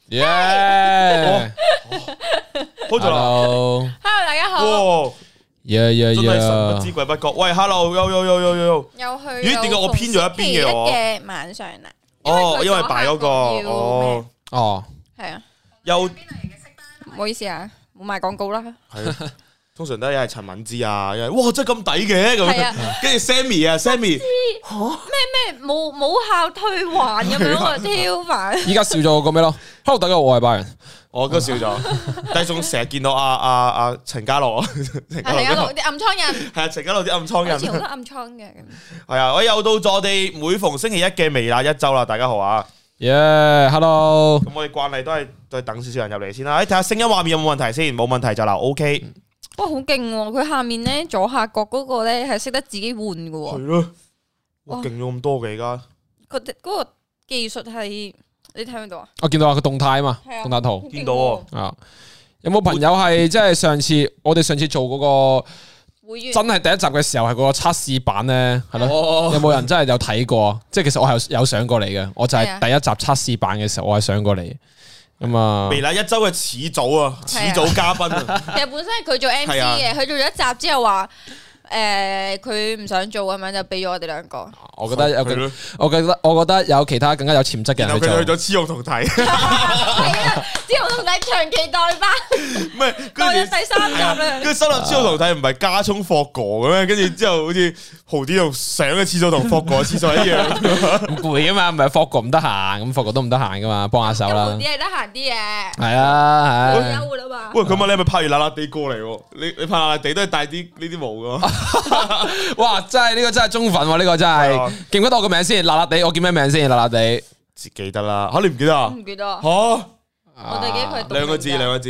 耶！ 好咗啦 Hello，大家好。 哇！ 真係神不知鬼不覺。喂 ，Hello，又又去。 咦？點解我偏咗一邊嘅我？ 嘅晚上啊。 哦，因為擺嗰個。 哦。 係啊。 又唔好意思啊，冇賣廣告啦。 係啊。通常都係陳敏之啊，哇真係咁抵嘅咁，跟住 Sammy 啊 ，Sammy 咩冇效退還咁樣啊，超煩！ 依家少咗個咩咯 ？Hello， 大家好，我係拜仁， 我都少咗，但係仲成日見到阿陳家樂， 陳家樂啲暗瘡人， 係啊，陳家樂啲暗瘡人， 以前好多暗瘡嘅。 係啊，我又到咗我哋每逢星期一嘅微辣一周啦，大家好啊！ 耶 ，Hello， 咁我哋慣例都係再等少少人入嚟先啦，睇下聲音畫面有冇問題先，冇問題就留 OK。 哇，好勁喎！佢下面咧左下角嗰個咧係識得自己換嘅喎。 係咯，哇，勁咗咁多嘅而家。 嗰個技術係你睇唔到啊？ 我見到個動態啊嘛，動態圖見到啊。有冇朋友係即係我哋上次做嗰個會員真係第一集嘅時候係嗰個測試版咧，係咯？有冇人真係有睇過？即係其實我係有上過嚟嘅，我就係第一集測試版嘅時候我係上過嚟。咁啊， 微辣一周嘅始祖啊，始祖嘉賓啊， 其實本身係佢做 MC 嘅，佢做咗一集之後話，佢唔想做咁樣就俾咗我哋兩個。 我覺得有其他更加有潛質嘅人去做。 佢去咗雌雄同體， 係啊，雌雄同體長期代班， 唔係代咗第三集啦。 跟住收納雌雄同體唔係加聰霍哥嘅咩？跟住之後好似豪啲度上嘅廁所同霍哥嘅廁所一樣， 唔攰啊嘛，唔係霍哥唔得閒，咁霍哥都唔得閒噶嘛，幫下手啦。 豪啲係得閒啲嘅， 係啊， 係休啦嘛。 喂，佢問你係咪拍完辣辣地過嚟？你拍辣辣地都係帶啲呢啲毛噶？ 哇！真係呢個真係中粉喎，呢個真係記唔記得我個名先？辣辣地，我叫咩名先？辣辣地， 記得啦。吓，你唔記得啊？ 唔記得吓， 我哋記得佢兩個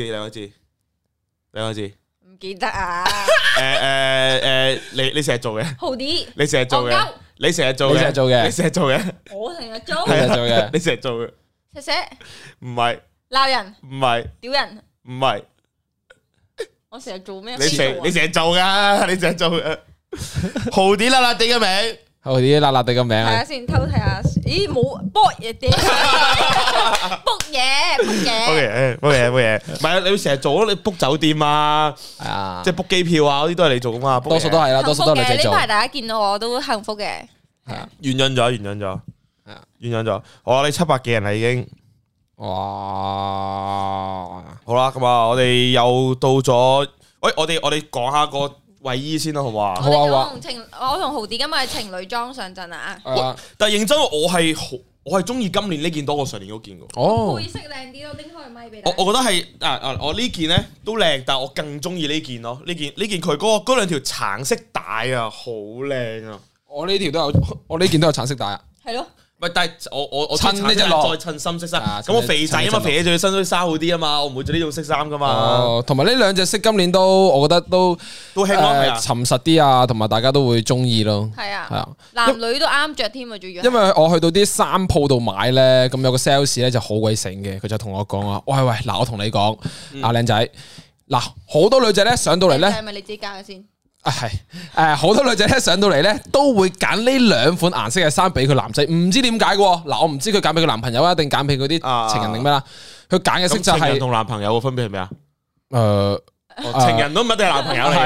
字， 唔記得啊。 你成日做嘅， 豪啲， 你成日做嘅，你成日做嘅， 你成日做嘅， 我成日做， 你成日做嘅， 你成日做嘅， 寫唔係鬧人， 唔係屌人， 唔係， 我成日做咩？ 你成日做噶，你成日做嘅。豪啲辣辣地嘅名， 豪啲辣辣地嘅名睇下先，偷睇下。咦，冇卜嘢啲，卜嘢， 冇嘢，唔係你成日做你 book 酒店啊，係啊，即係 book 機票啊，嗰啲都係你做噶嘛， 多數都係啦，多數都係你自己做。 呢排大家見到我都幸福嘅， 係啊， 原因咗，係啊，原因咗，我哋700幾人啦已經，哇，好啦，咁啊，我哋又到咗，喂，我哋講下個衛衣先啦，好唔好啊？ 好啊！ 我同豪啲今日係情侶裝上陣啊！ 但係認真，我係中意今年呢件多過上年嗰件嘅。 哦， 配色靚啲咯，拎開咪俾大家。 我覺得係我呢件咧都靚，但係我更中意呢件咯。呢件佢嗰兩條橙色帶啊，好靚啊！ 我呢件都有橙色帶啊。 係咯。 唔但係我襯呢隻落再襯深色衫，咁我肥仔啊嘛，肥仔仲要身衫好啲啊嘛，我唔會着呢種色衫噶嘛。 哦，同埋呢兩隻色今年都，我覺得都興咯， 沉實啲啊，同埋大家都會中意咯。 係啊， 係啊， 男女都啱着添啊，仲要。 因為我去到啲衫鋪度買咧，咁有個 sales 咧就好鬼醒嘅，佢就同我講話：喂，嗱，我同你講，阿靚仔，嗱，好多女仔咧上到嚟咧， 係咪你自己揀嘅先？ 係好多女仔咧上到嚟咧都會揀呢兩款顏色嘅衫俾佢男仔，唔知點解嘅喎。嗱，我唔知佢揀俾佢男朋友啊，定揀俾佢啲情人定咩啦？佢揀嘅色就係情人同男朋友嘅分別係咩啊？情人都唔一定係男朋友嚟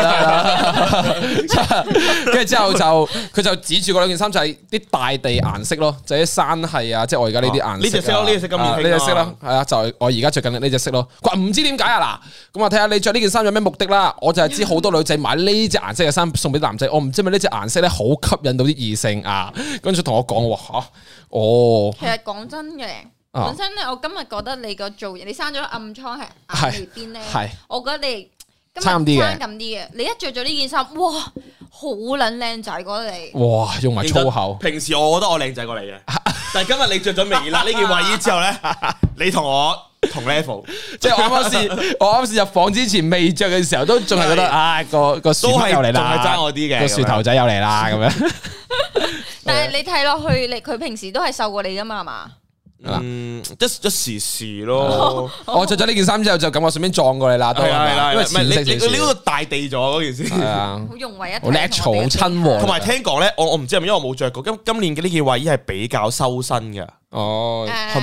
嘅，跟住之後佢就指住嗰兩件衫就係啲大地顏色咯，就係啲山系啊，即係我而家呢啲顏色。 呢隻色咯，呢隻色今年呢隻色咯，係啊，就係我而家着緊呢隻色咯。佢話唔知點解啊，嗱，咁我睇下你着呢件衫有咩目的啦。我就係知好多女仔買呢隻顏色嘅衫送俾男仔，我唔知咪呢隻顏色咧好吸引到啲異性啊。跟住同我講話嚇，哦， 其實講真嘅。本身咧，我今日覺得你個造型，你生咗暗瘡係眼眉邊咧，我覺得你今日生咁啲嘅。你一着咗呢件衫，哇，好撚靚仔，覺得你。 哇，用埋粗口。 平時我覺得我靚仔過你嘅，但係今日你着咗微辣呢件衛衣之後咧，你同我同 level。 即係我啱先入房之前未着嘅時候，都仲係覺得啊個樹頭又嚟啦， 仲係爭我啲嘅個樹頭仔又嚟啦咁樣。 但係你睇落去，佢平時都係瘦過你噶嘛，係嘛？ 一時咯。 我着咗呢件衫之後，就感覺順便撞過你啦。 係啦， 因為你呢個大地咗嗰件事。係啊，好融為一體， 好 natural，好親和。 同埋聽講咧，我唔知係咪因為我冇着過，今年嘅呢件衛衣係比較修身嘅。 哦， 係咪啊？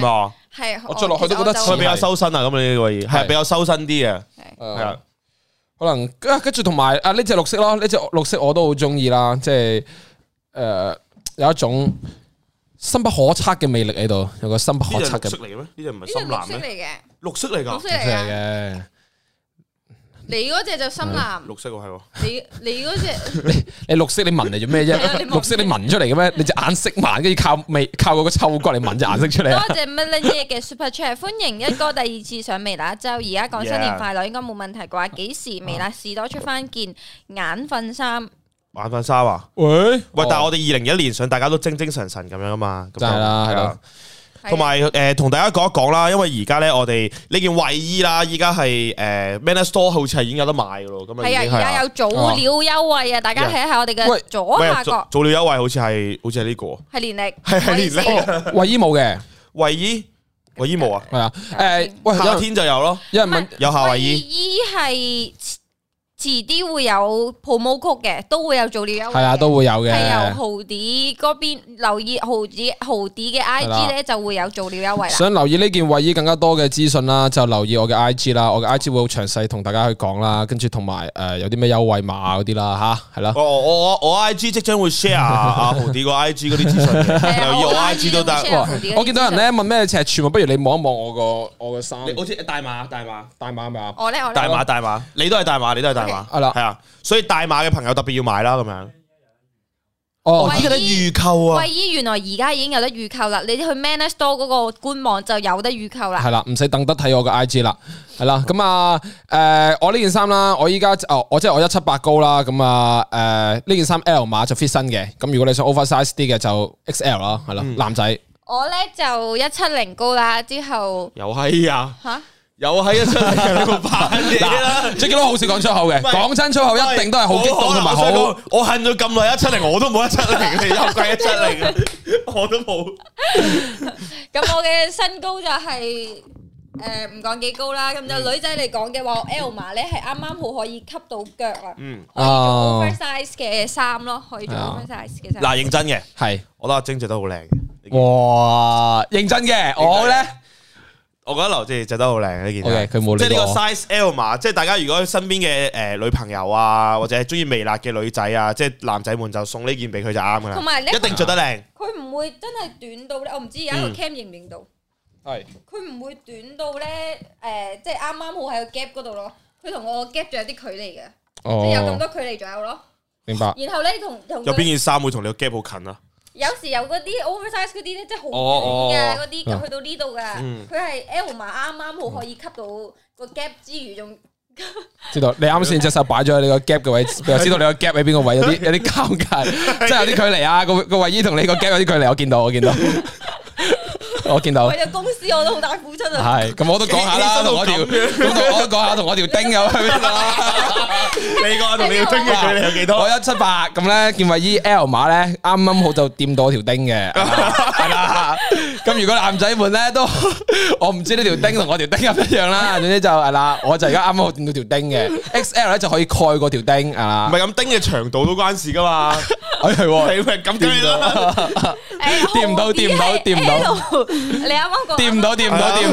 係我着落去都覺得佢比較修身啊，咁你呢個位係比較修身啲嘅，係啊， 可能跟住同埋啊呢隻綠色咯，呢隻綠色我都好中意啦，即係有一種深不可測嘅魅力喺度，有個深不可測嘅。 呢隻綠色嚟嘅咩？呢隻唔係深藍咩？綠色嚟㗎， 綠色嚟嘅。你嗰隻就深藍， 綠色喎係喎。 你嗰隻你綠色你聞嚟做咩啫？綠色你聞出嚟嘅咩？你隻眼色盲，跟住靠嗰個嗅覺嚟聞隻顏色出嚟啊！ 多謝 Melanie 嘅 Super Chat， 歡迎一哥第二次上微辣一周，而家講新年快樂應該冇問題啩？幾時微辣士多出翻件眼瞓衫？ 眼瞓衫啊？喂，但係我哋2021年上大家都精精神神咁樣啊嘛， 真係啦，係啦。 同埋同大家講一講啦，因為而家咧我哋呢件衞衣啦，依家係Manner Store 好似係已經有得賣噶咯，咁係啊，而家有早鳥優惠啊，大家睇下我哋嘅左下角早鳥優惠，好似係呢個係年歷， 係年歷， 衞衣冇嘅， 衞衣冇啊， 係啊，喂， 夏天就有咯，有人問有夏衞衣係。遲啲會有 promo code 嘅，都會有早鳥優惠。 係啊，都會有嘅。 係由豪啲嗰邊留意豪啲嘅 IG 咧，就會有早鳥優惠啦。 想留意呢件衞衣更加多嘅資訊啦，就留意我嘅 IG 啦。我嘅 IG 會好詳細同大家去講啦，跟住同埋有啲咩優惠碼嗰啲啦嚇，係啦。 我 IG 即將會 share 阿豪啲個 IG 嗰啲資訊，留意我 IG 都得。 我見到人咧問咩尺寸，不如你望一望我個衫。 好似大碼係咪啊？ 我咧大碼，你都係大碼，係啦，係啊，所以大碼嘅朋友特別要買啦，咁樣。哦，依家得預購啊！ 衞衣原來而家已經有得預購啦，你去 Manner Store 嗰個官網就有得預購啦。 係啦，唔使等得睇我個 IG 啦，係啦。咁啊，我呢件衫啦，我依家我即係我178高啦，咁啊，呢件衫 L 碼就 fit 身嘅，咁如果你想 oversize 啲嘅就 XL 啦，係啦，男仔。 我咧就170高啦，之後又係啊嚇。 又係170嘅個扮嘢啦 ，Jacky Lou好少講粗口嘅，講真粗口一定都係好激動同埋好。我恨咗咁耐170，我都冇170，又貴170，我都冇。 咁我嘅身高就係唔講幾高啦，咁就女仔嚟講嘅話，L 碼咧係啱啱好可以吸到腳啊，可以做 oversize 嘅衫咯，可以做 oversize 嘅衫。 嗱，認真嘅係， 我覺得阿晶着得好靚嘅。 哇，認真嘅，我咧。 我覺得劉志着得好靚呢件， 佢冇即係呢個 size L 碼，即係大家如果身邊嘅女朋友啊，或者係中意微辣嘅女仔啊，即係男仔們就送呢件俾佢就啱噶啦， 同埋一定着得靚。 佢唔會真係短到咧，我唔知而家個 cam 認唔認到。 係。 佢唔會短到咧，即係啱啱好喺個 gap 嗰度咯。佢同我個 gap 仲有啲距離嘅，即係有咁多距離左右咯。 明白。 然後咧同有邊件衫會同你個 gap 好近啊？ 有時有嗰啲 oversize 嗰啲咧，即係好短嘅嗰啲，去到呢度噶，佢係 L 碼啱啱好可以吸到個 gap 之餘，仲知道你啱先隻手擺咗喺你個 gap 嘅位，又知道你個 gap 喺邊個位，有啲尷尬，即係有啲距離啊！個衛衣同你個 gap 有啲距離，我見到。我見到為咗公司我都好大付出啊！ 係咁，我都講下啦，同我條同我條丁有去邊度啦？ 你講同你條丁嘅距離有幾多？ 我178咁咧，件衛衣 L 碼咧，啱啱好就掂到我條丁嘅，係啦。咁如果男仔們咧都，我唔知呢條丁同我條丁一唔一樣啦。總之就係啦，我就而家啱啱好掂到條丁嘅 XL 咧就可以蓋過條丁啊。 唔係咁丁嘅長度都關事噶嘛？係咁掂啦。 掂唔到。 你啱啱講掂唔到，掂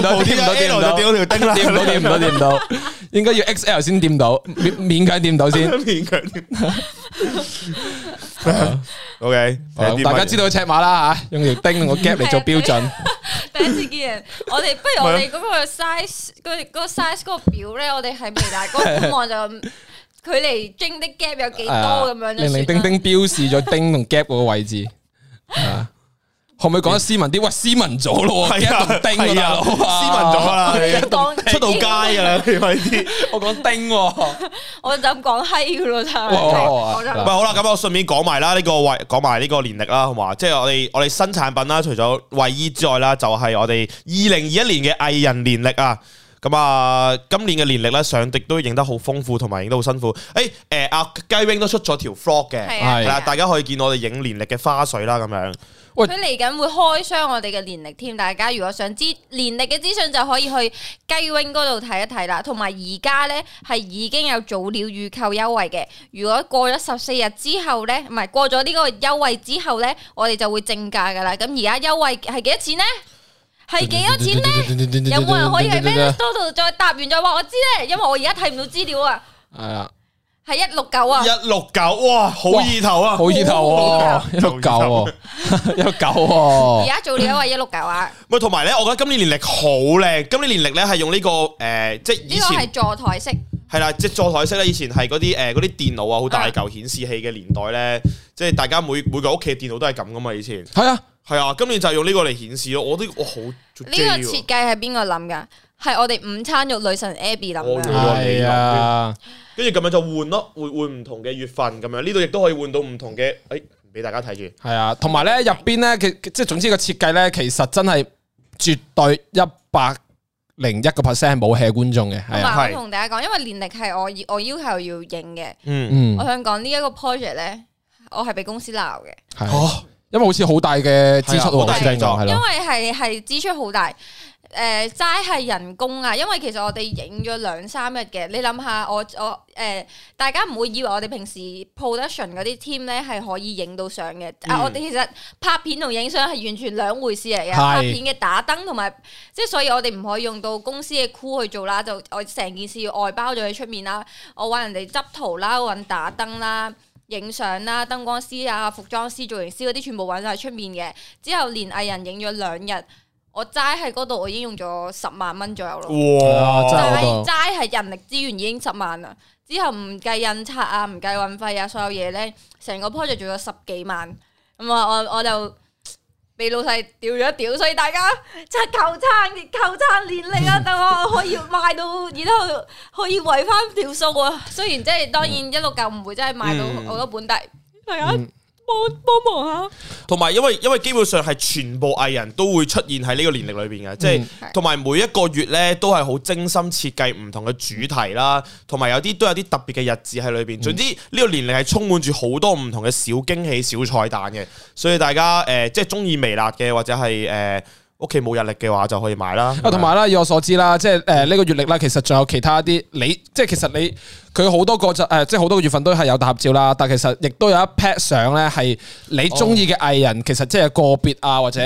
唔到，應該要 XL 先掂到，勉強掂到先， 勉強掂。OK， 大家知道尺碼啦吓，用條丁個 gap 嚟做標準。 第一次見人，我哋不如我哋嗰個 size 嗰個 size 嗰個表咧，我哋係微辣嗰個官網就距離丁的 gap 有幾多咁樣， 零零丁丁標示咗丁同 gap 嗰個位置。可唔可以講得斯文啲？喂，斯文咗咯，係啊，丁啊， 斯文咗啦，出到街噶啦，呢啲。我講丁， 我就咁講閪噶咯，真係。 唔係好啦，咁我順便講埋啦，講埋呢個年曆啦，好嘛？即係我哋新產品啦，除咗衛衣之外啦，就係我哋2021年嘅藝人年曆啊。咁啊，今年嘅年曆咧上碟都影得好豐富，同埋影得好辛苦。阿雞 wing 都出咗條 vlog 嘅，係啦，大家可以見我哋影年曆嘅花絮啦，咁樣。 佢嚟緊會開箱我哋嘅年曆添，大家如果想知年曆嘅資訊就可以去雞 wing 嗰度睇一睇啦。同埋而家咧係已經有早鳥預購優惠嘅，如果過咗14日之後咧，唔係過咗呢個優惠之後咧，我哋就會正價噶啦。咁而家優惠係幾多錢咧？ 係幾多錢咧？有冇人可以喺 Manner 度再答完再話我知咧？因為我而家睇唔到資料啊。 係啊， 係169啊 ，169，哇，好意頭啊， 好意頭喎，169喎，169喎。 而家做料係169啊。 喂，同埋咧，我覺得今年年曆好靚，今年年曆咧係用呢個即係以前呢個係座台式。係啦，即係座台式咧。以前係嗰啲電腦啊，好大嚿顯示器嘅年代咧，即係大家每個屋企嘅電腦都係咁噶嘛。以前係啊， 今年就用呢個嚟顯示咯。我好呢個設計係邊個諗噶？係我哋午餐肉女神 Abby 諗噶。 係啊， 跟住咁樣就換咯，換唔同嘅月份咁樣。呢度亦都可以換到唔同嘅，俾大家睇住。 係啊，同埋咧入邊咧，即係總之個設計咧，其實真係絕對101% 冇 hea 觀眾嘅。係啊， 我同大家講，因為年曆係我要求要影嘅。我想講呢一個 project 咧，我係俾公司鬧嘅。 係，因為好似好大嘅支出喎， 因為係支出好大。齋係人工啊，因為其實我哋影咗2-3日嘅，你諗下我大家唔會以為我哋平時 production 嗰啲 team 咧係可以影到相嘅。我哋其實拍片同影相係完全兩回事嚟嘅。拍片嘅打燈同埋即係，所以我哋唔可以用到公司嘅 crew 去做啦，就我成件事要外包咗喺出面啦。我揾人哋執圖啦，揾打燈啦、影相啦、燈光師啊、服裝師、造型師嗰啲全部揾晒喺出面嘅。之後連藝人影咗2日。我齋喺嗰度，我已經用咗10萬蚊左右咯。 哇！ 齋係人力資源已經10萬啦。之後唔計印刷啊，唔計運費啊，所有嘢咧，成個 project 做咗10幾萬。咁我就俾老細屌咗一屌，所以大家真係求撐年曆啊！等我可以賣到，然後可以圍翻條數啊。雖然即係當然169唔會真係賣到好多本，但係大家幫忙下。 同埋因為基本上係全部藝人都會出現喺呢個年曆裏邊嘅，即係同埋每一個月咧都係好精心設計唔同嘅主題啦，同埋都有啲特別嘅日子喺裏邊。總之呢個年曆係充滿住好多唔同嘅小驚喜、小彩蛋嘅，所以大家即係中意微辣嘅或者係屋企冇日曆嘅話就可以買啦。 同埋啦，以我所知啦，即係呢個月曆啦，其實仲有其他啲即係其實佢好多個即係好多個月份都係有大合照啦，但其實亦都有一 pat 相咧係你中意嘅藝人，其實即係個別啊或者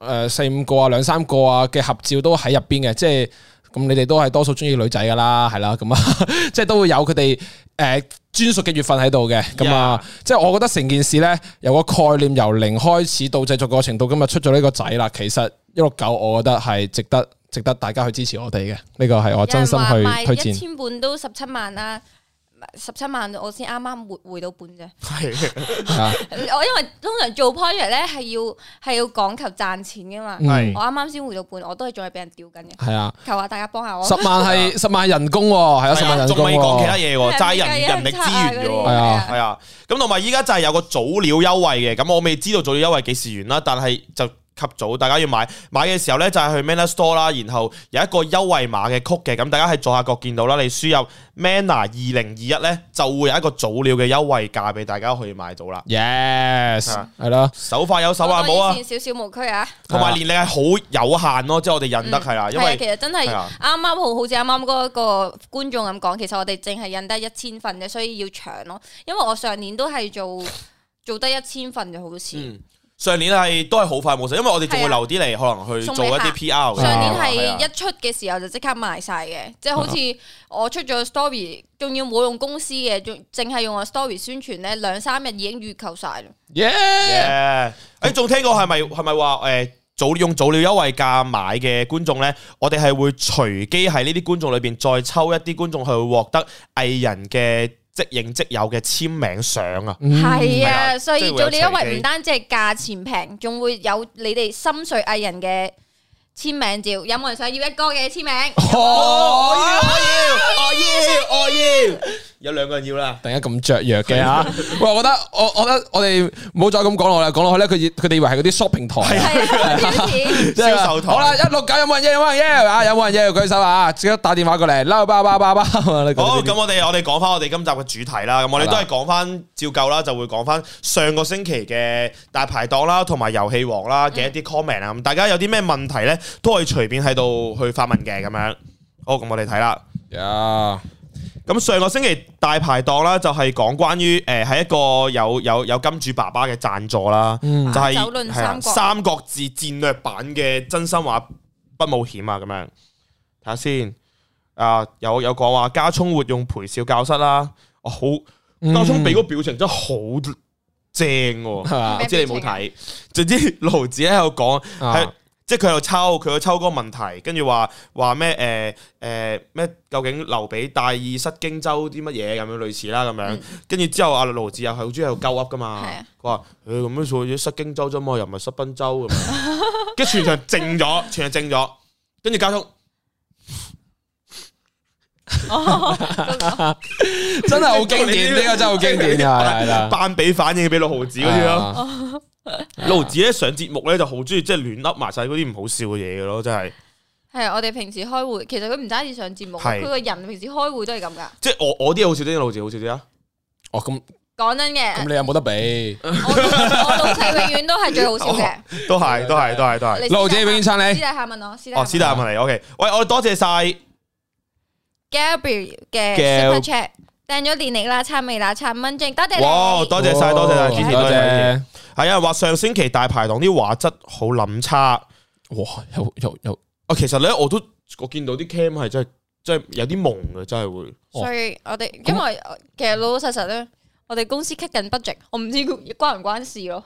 4-5個啊2-3個啊嘅合照都喺入邊嘅，即係咁你哋都係多數中意女仔噶啦，係啦，咁啊即係都會有佢哋專屬嘅月份喺度嘅，咁啊，即係我覺得成件事咧由個概念由0開始到製作過程到今日出咗呢個仔啦，其實169我覺得係值得大家去支持我哋嘅，呢個係我真心去推薦。 1000本都17萬啦。17萬我先啱啱回到本啫。 係我因為通常做 project 咧係要講求賺錢噶嘛。我啱啱先回到本，我都係仲係俾人吊緊嘅。係啊，求下大家幫下我。 10萬人工喎，係啊，10萬人工。 仲未講其他嘢喎，齋人力資源嘅喎。係啊，咁同埋依家就係有個早鳥優惠嘅，咁我未知道早鳥優惠幾時完啦，但係就及早，大家要買嘅時候咧，就係去 Manner Store 啦，然後有一個優惠碼嘅曲嘅，咁大家喺左下角見到啦，你輸入 Manner 2021咧，就會有一個早鳥嘅優惠價俾大家可以買到啦。 Yes，係咯， 手快有手快冇啊！ 少無區啊， 同埋年曆係好有限咯，即係我哋印得係啦，因為其實真係啱啱好似啱啱嗰個觀眾咁講，其實我哋淨係印得1000份嘅，所以要搶咯。因為我上年都係做得1000份就好似。 上年都係好快冇晒，因為我哋仲會留啲嚟可能去做一啲 PR。 上年係一出嘅時候就即刻賣晒嘅，即係好似我出咗 story， 仲要冇用公司嘅，仲淨係用個 story 宣傳咧，2-3日已經預購晒啦。 仲聽過係咪話用早鳥優惠價買嘅觀眾咧，我哋係會隨機喺呢啲觀眾裏邊再抽一啲觀眾去獲得藝人嘅即影即有嘅簽名相啊， 係啊，所以早鳥優惠唔單止係價錢平，仲會有你哋心水藝人嘅簽名照。有冇人想要一哥嘅簽名？ 我要，有2個人要啦。 突然間咁雀躍嘅吓，喂，我覺得我哋唔好再咁講落啦，講落去咧，佢哋以為係嗰啲 shopping 台銷售台。 好啦，169有冇人要啊？有冇人要舉手啊？即刻打電話過嚟，撈包。好， 咁我哋講翻我哋今集嘅主題啦。咁我哋都係講翻照舊啦，就會講翻上個星期嘅大排檔啦，同埋遊戲王啦嘅一啲 comment 啊。咁大家有啲咩問題咧，都可以隨便喺度去發問嘅咁樣。好，咁我哋睇啦。咁上個星期大排檔啦，就係講關於係一個有金主爸爸嘅贊助啦，就係《三國志戰略版》嘅真心話不冒險啊咁樣。睇下先，有講話加聰活用陪笑教室啦，好加聰俾個表情真係好正喎，唔知你冇睇？總之盧子喺度講係。即係佢又抽嗰個問題，跟住話咩咩？究竟劉備大意失荊州啲乜嘢咁樣類似啦咁樣，跟住之後阿盧子又係好中意喺度鳩噏噶嘛，佢話咁樣做咗失荊州啫嘛，又唔係失賓州咁樣，跟住全場靜咗，跟住加速， 真係好經典，呢個真係好經典㗎，係啦， 扮俾反應俾六毫子嗰啲咯。盧子咧上節目咧就好中意即係亂噏埋晒嗰啲唔好笑嘅嘢嘅咯，真係。係我哋平時開會，其實佢唔單止上節目，佢個人平時開會都係咁噶。 即係我啲好笑啲，盧子好笑啲啊。 哦，咁講真嘅。咁你有冇得比？ 我老細永遠都係最好笑嘅。 都係。 盧子永遠撐你。 私底下問我。 私底下問你。OK， 喂，我哋多謝晒 Gabriel 嘅 Super Chat， 訂咗年曆啦，撐未啦，撐蚊證，多謝你。 哇，多謝晒，支持多謝。係啊，話上星期大排檔啲畫質好諗差， 哇，有其實咧我見到啲 cam 係真係有啲蒙嘅，真係會。 所以我哋因為其實老老實實咧，我哋公司 cut 緊 budget， 我唔知關唔關事咯。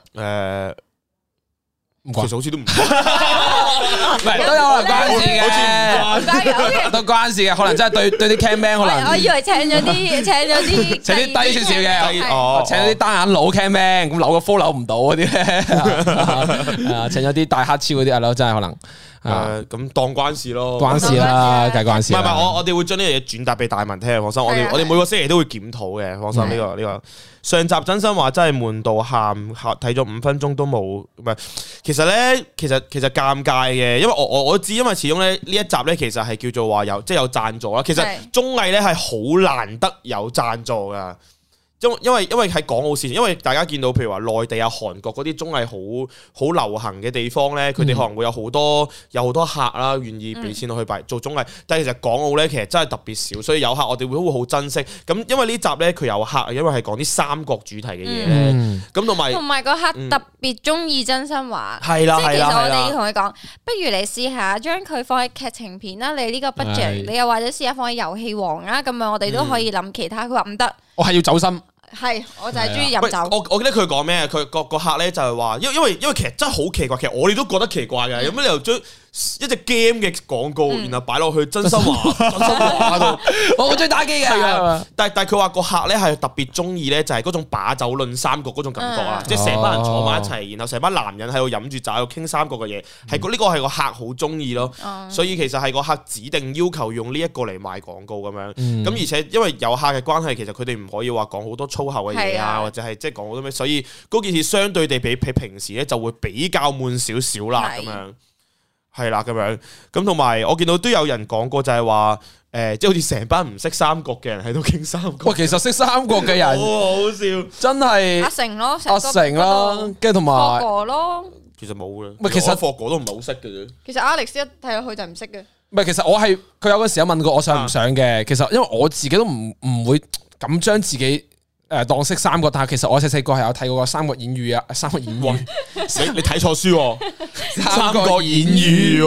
其實好似都唔係都有可能關事嘅，都關事嘅，可能真係對啲 cam man 可能。 我以為請咗啲低少少嘅，請咗啲單眼佬 cam man，咁扭個 flow 扭唔到嗰啲咧，請咗啲大黑超嗰啲阿佬，真係可能。 咁當關事咯， 關事啦，梗係關事。 唔係，我哋會將呢樣嘢轉達俾大文聽，放心。我哋每個星期都會檢討嘅，放心。呢個上集真心話真係悶到喊，睇咗5分鐘都冇。唔係，其實咧，其實尷尬嘅，因為我知，因為始終咧呢一集咧其實係叫做話有贊助啦。其實綜藝咧係好難得有贊助噶。因為喺港澳線，因為大家見到譬如話內地啊、韓國嗰啲綜藝好流行嘅地方咧，佢哋可能會有好多客啦，願意俾錢落去做綜藝。但係其實港澳咧，其實真係特別少，所以有客我哋會好珍惜。咁因為呢集咧佢有客，因為係講啲三國主題嘅嘢咧，咁同埋個客特別中意真心話， 係啦， 即係其實我哋要同佢講，不如你試下將佢放喺劇情片啦，你呢個 budget，你又或者試下放喺遊戲王啊，咁樣我哋都可以諗其他。佢話唔得， 我係要走心。 係，我就係中意飲酒。 我記得佢講咩？佢個客咧就係話，因為其實真係好奇怪，其實我哋都覺得奇怪嘅。有咩理由將一隻 game 嘅廣告，然後擺落去真心話度？ 我好中意打機嘅。 但係佢話個客咧係特別中意咧，就係嗰種把酒論三國嗰種感覺啊！即係成班人坐埋一齊，然後成班男人喺度飲住酒，喺度傾三國嘅嘢，係呢個係個客好中意咯。所以其實係個客指定要求用呢一個嚟賣廣告咁樣。咁而且因為有客嘅關係，其實佢哋唔可以話講好多粗口嘅嘢啊，或者係即係講好多咩，所以嗰件事相對地比平時咧就會比較悶少少啦，咁樣係啦，咁樣咁同埋我見到都有人講過就係話即係好似成班唔識三國嘅人喺度傾三國。 喂，其實識三國嘅人好好笑， 真係阿成咯， 阿成啦，跟住同埋霍哥咯。 其實冇嘅， 唔係其實霍哥都唔係好識嘅啫。 其實 Alex 一睇落去就唔識嘅。 唔係，其實我係佢有嗰時有問過我想唔想嘅。其實因為我自己都唔會咁將自己當識三國，但係其實我細細個係有睇過《三國演義》啊，《三國演義》 你睇錯書喎，《三國演義》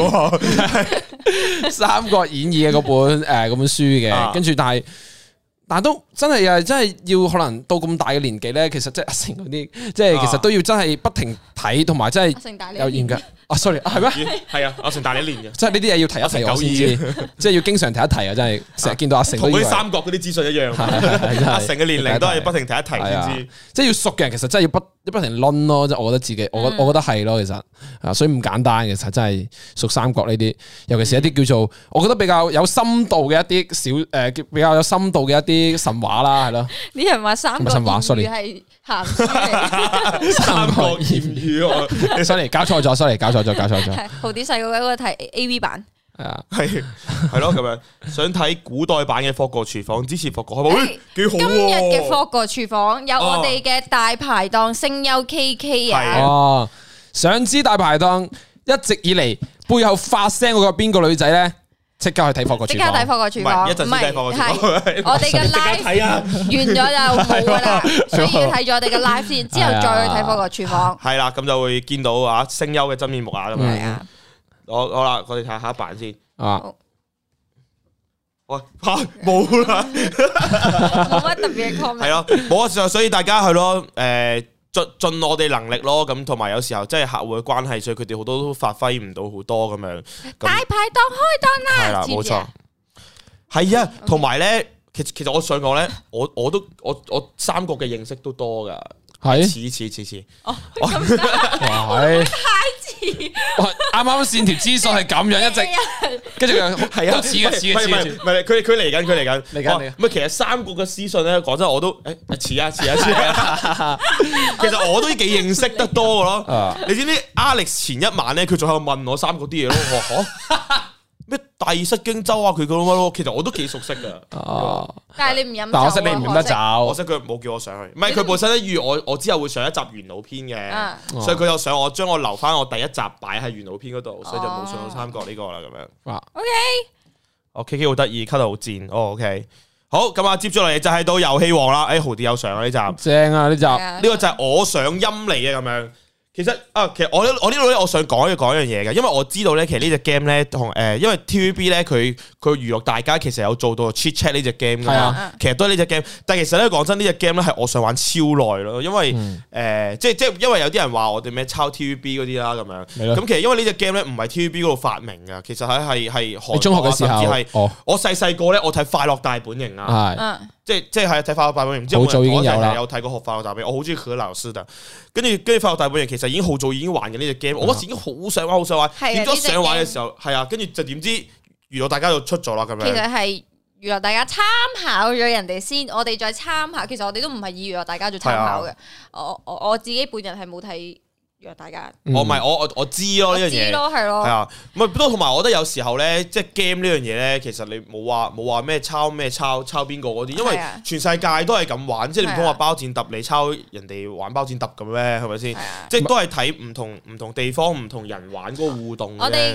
《三國演義》嘅嗰本書嘅，跟住但係都真係啊，真係要可能到咁大嘅年紀咧，其實即係阿成嗰啲，即係其實都要真係不停睇，同埋真係有研究。sorry， 係咩？係啊，阿成大你一年嘅， 即係呢啲嘢要提一提我先知，即係要經常提一提啊！真係成日見到阿成同嗰啲三國嗰啲資訊一樣，阿成嘅年齡都係不停提一提先知。 即係要熟嘅人，其實真係要不停掄咯。即係我覺得自己，我覺得係咯，其實啊，所以唔簡單嘅，其實真係熟三國呢啲，尤其是一啲叫做我覺得比較有深度嘅一啲比較有深度嘅一啲神話啦，係咯。啲人話三國演義係鹹書嚟， 三國演義 ，sorry，搞錯咗，sorry，搞錯咗。 豪啲細個嗰個睇 AV 版， 係咯咁樣。想睇古代版嘅霍國廚房，支持霍國，係咪？幾好。 今日嘅霍國廚房有我哋嘅大排檔聲優 KK 啊。 哦，想知大排檔一直以嚟背後發聲嗰個邊個女仔咧？即刻去睇霍國廚房， 即刻睇霍國廚房， 唔係我哋嘅 live 完咗就冇噶啦，所以要睇咗我哋嘅 live 先，之後再去睇霍國廚房。 係啦，咁就會見到啊聲優嘅真面目啊咁樣。 好啦，我哋睇下下一版先。喂，冇啦， 冇乜特別嘅 comment。 係咯，冇啊，所以大家係咯，盡我哋能力咯，咁同埋有時候即係客戶嘅關係，所以佢哋好多都發揮唔到好多咁樣。 大排檔開檔啦， 係啦，冇錯。係啊，同埋咧，其實我想講咧，我三國嘅認識都多噶。 係似哦，係太似， 啱啱線條資訊係咁樣一直，跟住係啊，似嘅， 唔係佢嚟緊，唔係其實三國嘅私信咧，講真我都似啊，其實我都幾認識得多噶咯。你知唔知 Alex 前一晚咧，佢仲喺度問我三國啲嘢咯，我話咩帝釋荊州啊，佢咁樣咯，其實我都幾熟悉噶。 但係你唔飲酒， 但我識你唔飲得酒， 我識佢冇叫我上去。唔係佢本身咧預我之後會上一集元老篇嘅，所以佢又想我將我留翻我第一集擺喺元老篇嗰度，所以就冇上到三國呢個啦咁樣。 OK， 我 KK 好得意，cut 到好賤。OK，好咁啊，接住嚟就係到遊戲王啦。豪啲有上啊呢集， 正啊呢集， 呢個就係我想陰你嘅咁樣。其實我呢度咧，我想講一樣嘢嘅，因為我知道咧，其實呢隻 game 咧同因為 TVB 咧佢娛樂大家，其實有做到 Chit Chat 呢隻 game 噶嘛，其實都係呢隻 game。但係其實咧講真，呢隻 game 咧係我想玩超耐咯，因為即係因為有啲人話我哋咩抄 TVB 嗰啲啦咁樣，咁其實因為呢隻 game 咧唔係 TVB 嗰度發明噶，其實係中學嘅時候，甚至係我細個咧，我睇《快樂大本營》啊。即係睇《快樂大本營》，唔知好早已經有啦。 有睇過《快樂大本營》，我好中意何老師嘅。跟住《快樂大本營》其實已經好早已經玩緊呢隻 game，我嗰時已經好想玩。點咗想玩嘅時候，係啊，跟住就點知娛樂大家就出咗啦咁樣。其實係娛樂大家參考咗人哋先，我哋再參考。其實我哋都唔係以娛樂大家做參考嘅。我自己本人係冇睇。約大家， 我唔係我知咯呢樣嘢， 係咯， 係啊，唔係不過同埋我覺得有時候咧，即係 game 呢樣嘢咧，其實你冇話咩抄邊個嗰啲，因為全世界都係咁玩，即係你唔通話包剪揼你抄人哋玩包剪揼咁咩？係咪先？即係都係睇唔同地方唔同人玩嗰個互動。我哋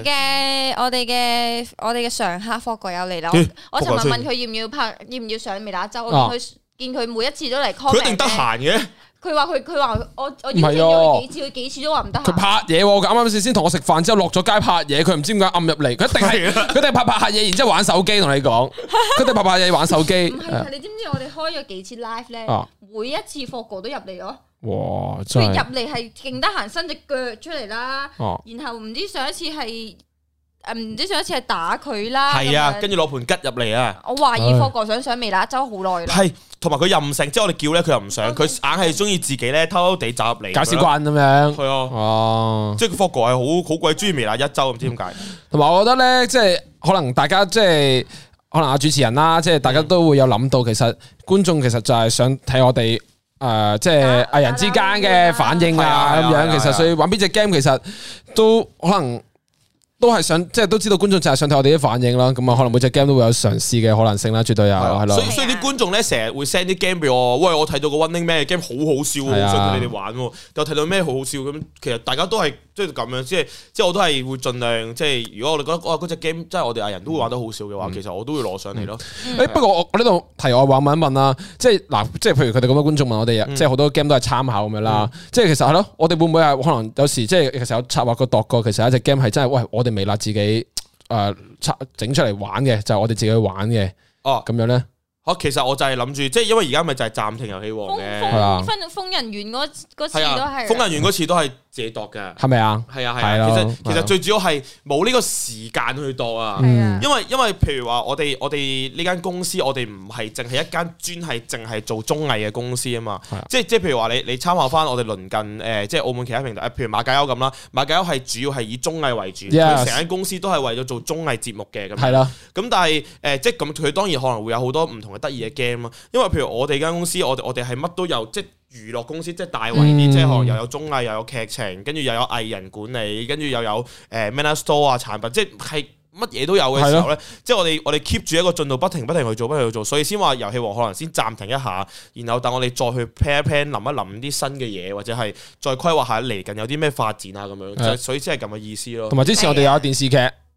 嘅常客霍哥有嚟啦，我尋日問佢要唔要上微辣周，我見佢每一次都嚟 comment， 佢一定得閒嘅。 佢話我邀請咗佢幾次，佢幾次都話唔得閒。 佢拍嘢，佢啱啱先同我食飯之後落咗街拍嘢，佢唔知點解暗入嚟，佢一定拍下嘢，然之後玩手機同你講，佢一定拍嘢玩手機。 唔係，你知唔知我哋開咗幾次 live 咧？每一次霍哥都入嚟咯。 哇！ 佢入嚟係勁得閒，伸隻腳出嚟啦。然後唔知上一次係打佢啦。 係啊，跟住攞盤吉入嚟啊！ 我懷疑霍哥想上微辣周好耐啦。 係。同埋佢任性，即係我哋叫咧，佢又唔想，佢硬係中意自己咧偷偷地走入嚟， 搞屎棍咁樣。 係啊，即係霍哥係好鬼中意微辣一周，唔知點解。同埋我覺得咧，即係可能大家即係可能阿主持人啦，即係大家都會有諗到，其實觀眾其實就係想睇我哋即係藝人之間嘅反應啊咁樣。其實所以玩邊隻 game 其實都可能。都係想，即係都知道觀眾就係想睇我哋啲反應啦。咁啊，可能每隻 game 都會有嘗試嘅可能性啦，絕對有係咯。 所以啲觀眾咧成日會 send 啲 game 俾我，喂，我睇到個 Running Man 嘅 game 好好笑，好想同你哋玩。又睇到咩好好笑咁，其實大家都係即係咁樣，即係我都係會盡量，即係如果我哋覺得嗰隻 game 即係我哋藝人都會玩得好笑嘅話，其實我都會攞上嚟咯。 不過我呢度題外話問一問啦，即係嗱，即係譬如佢哋咁多觀眾問我哋，即係好多 game 都係參考咁樣啦。即係其實係咯，我哋會唔會係可能有時即係其實有策劃過度過，其實有一隻 game 係真係喂，我哋微辣自己。整出嚟玩嘅就係我哋自己去玩嘅咁樣咧。 其實我就係諗住，即係因為而家咪就係暫停遊戲王嘅， 瘋人園嗰次都係， 瘋人園嗰次都係自己度嘅， 係咪啊？ 係啊，其實最主要係冇呢個時間去度啊，因為譬如話我哋呢間公司，我哋唔係淨係一間專係淨係做綜藝嘅公司啊嘛，即係譬如話你參考翻我哋鄰近即係澳門其他平台，譬如馬介休咁啦，馬介休係主要係以綜藝為主，佢成間公司都係為咗做綜藝節目嘅咁，係啦，咁但係即係咁佢當然可能會有好多唔同得意嘅 game 啊，因為譬如我哋間公司，我哋係乜都有，即係娛樂公司，即係大圍啲，即係可能又有綜藝，又有劇情，跟住又有藝人管理，跟住又有Manner Store 啊產品，即係乜嘢都有嘅時候咧，即係我哋 keep 住一個進度，不停去做，所以先話遊戲王可能先暫停一下，然後等我哋再去 plan 一 plan，諗一諗啲新嘅嘢，或者係再規劃下嚟緊有啲咩發展啊咁樣，所以先係咁嘅意思咯。 同埋之前我哋有電視劇。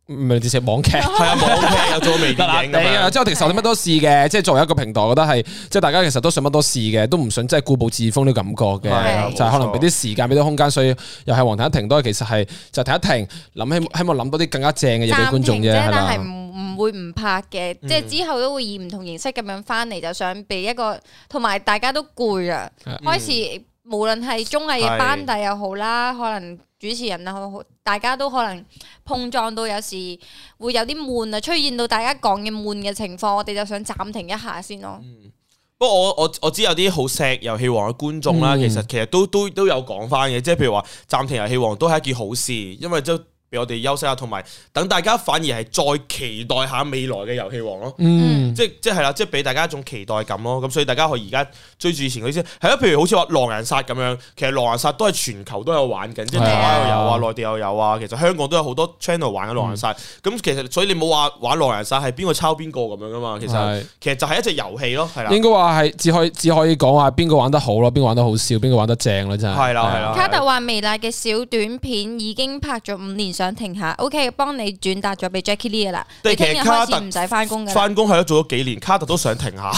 唔係直接網劇， 係啊，網劇又做微電影咁樣。 即係我其實我哋乜都試嘅，即係作為一個平台，我覺得係即係大家其實都想乜都試嘅，都唔想即係固步自封呢個感覺嘅，就係可能俾啲時間，俾啲空間，所以又係黃停一停都係其實係就停一停，希望諗多啲更加正嘅嘢俾觀眾啫，係啦。 但係唔會唔拍嘅，即係之後都會以唔同形式咁樣翻嚟，就想俾一個同埋大家都攰啊，開始無論係綜藝嘅班底又好啦，可能主持人啊好，大家都可能碰撞到有時會有啲悶啊，出現到大家講嘅悶嘅情況，我哋就想暫停一下先咯。 不過我知有啲好錫遊戲王嘅觀眾啦，其實都有講翻嘅，即係譬如話暫停遊戲王都係一件好事，因為都俾我哋休息下，同埋等大家反而係再期待下未來嘅遊戲王咯。即係啦，即係俾大家一種期待感咯。咁所以大家可以而家追住以前嗰啲先。係咯，譬如好似話狼人殺咁樣，其實狼人殺都係全球都有玩緊，即係台灣又有啊，內地又有啊。其實香港都有好多 channel 玩緊狼人殺。咁其實所以你冇話玩狼人殺係邊個抄邊個咁樣噶嘛？其實就係一隻遊戲咯，係啦。 應該話係只可以講話邊個玩得好咯，邊個玩得好笑，邊個玩得正咯，真係。係啦。 卡特話微辣嘅小短片已經拍咗5年，想停下。OK， 幫你轉達咗俾 Jackie Lee 啦。你聽日開始唔使翻工㗎。翻工係咯，做咗幾年，卡特都想停下。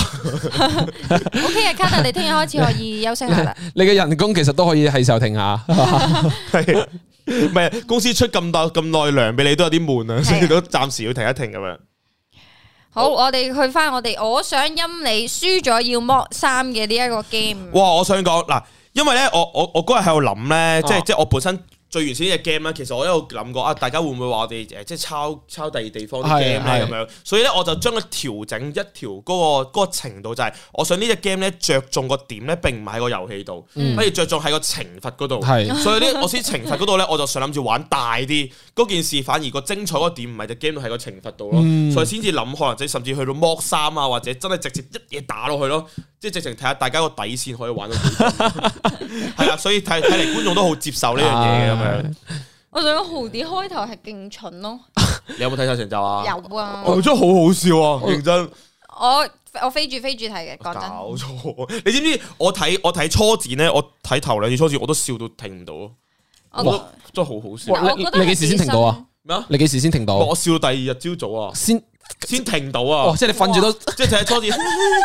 OK 啊，卡特，你聽日開始可以休息下啦。 你嘅人工其實都可以係時候停下。 係，唔係公司出咁耐糧俾你都有啲悶啊，所以都暫時要停一停咁樣。 好，我哋去翻我想陰你輸咗要剝衫嘅呢一個 game。 哇，我想講嗱，因為咧我嗰日喺度諗咧，即係我本身。最原始呢隻 game 咧，其實我一路諗過啊，大家會唔會話我哋即係抄第二地方啲 game 咧咁樣？所以咧我就將佢調整一條嗰個程度，就係我想呢隻 game 咧着重個點咧並唔係喺個遊戲度，反而着重喺個懲罰嗰度。所以咧我先懲罰嗰度咧，我就想諗住玩大啲嗰件事，反而個精彩嗰點唔係隻 game 度，係個懲罰度咯。所以先至諗可能即甚至去到剝衫啊，或者真係直接一嘢打落去咯，即係直情睇下大家個底線可以玩到幾多。係啊，所以睇嚟觀眾都好接受呢樣嘢嘅。 我想講豪啲開頭係勁蠢咯。 你有冇睇晒成集啊？ 有啊， 真係好好笑啊！認真， 我飛住睇嘅，講真。 搞錯，你知唔知我睇初剪咧？我睇頭2次初剪我都笑到停唔到咯。哇，真係好好笑。 你幾時先停到啊？ 咩啊？ 你幾時先停到？ 我笑到第2日朝早啊，先停到啊！ 即係你瞓住都， 即係睇初剪。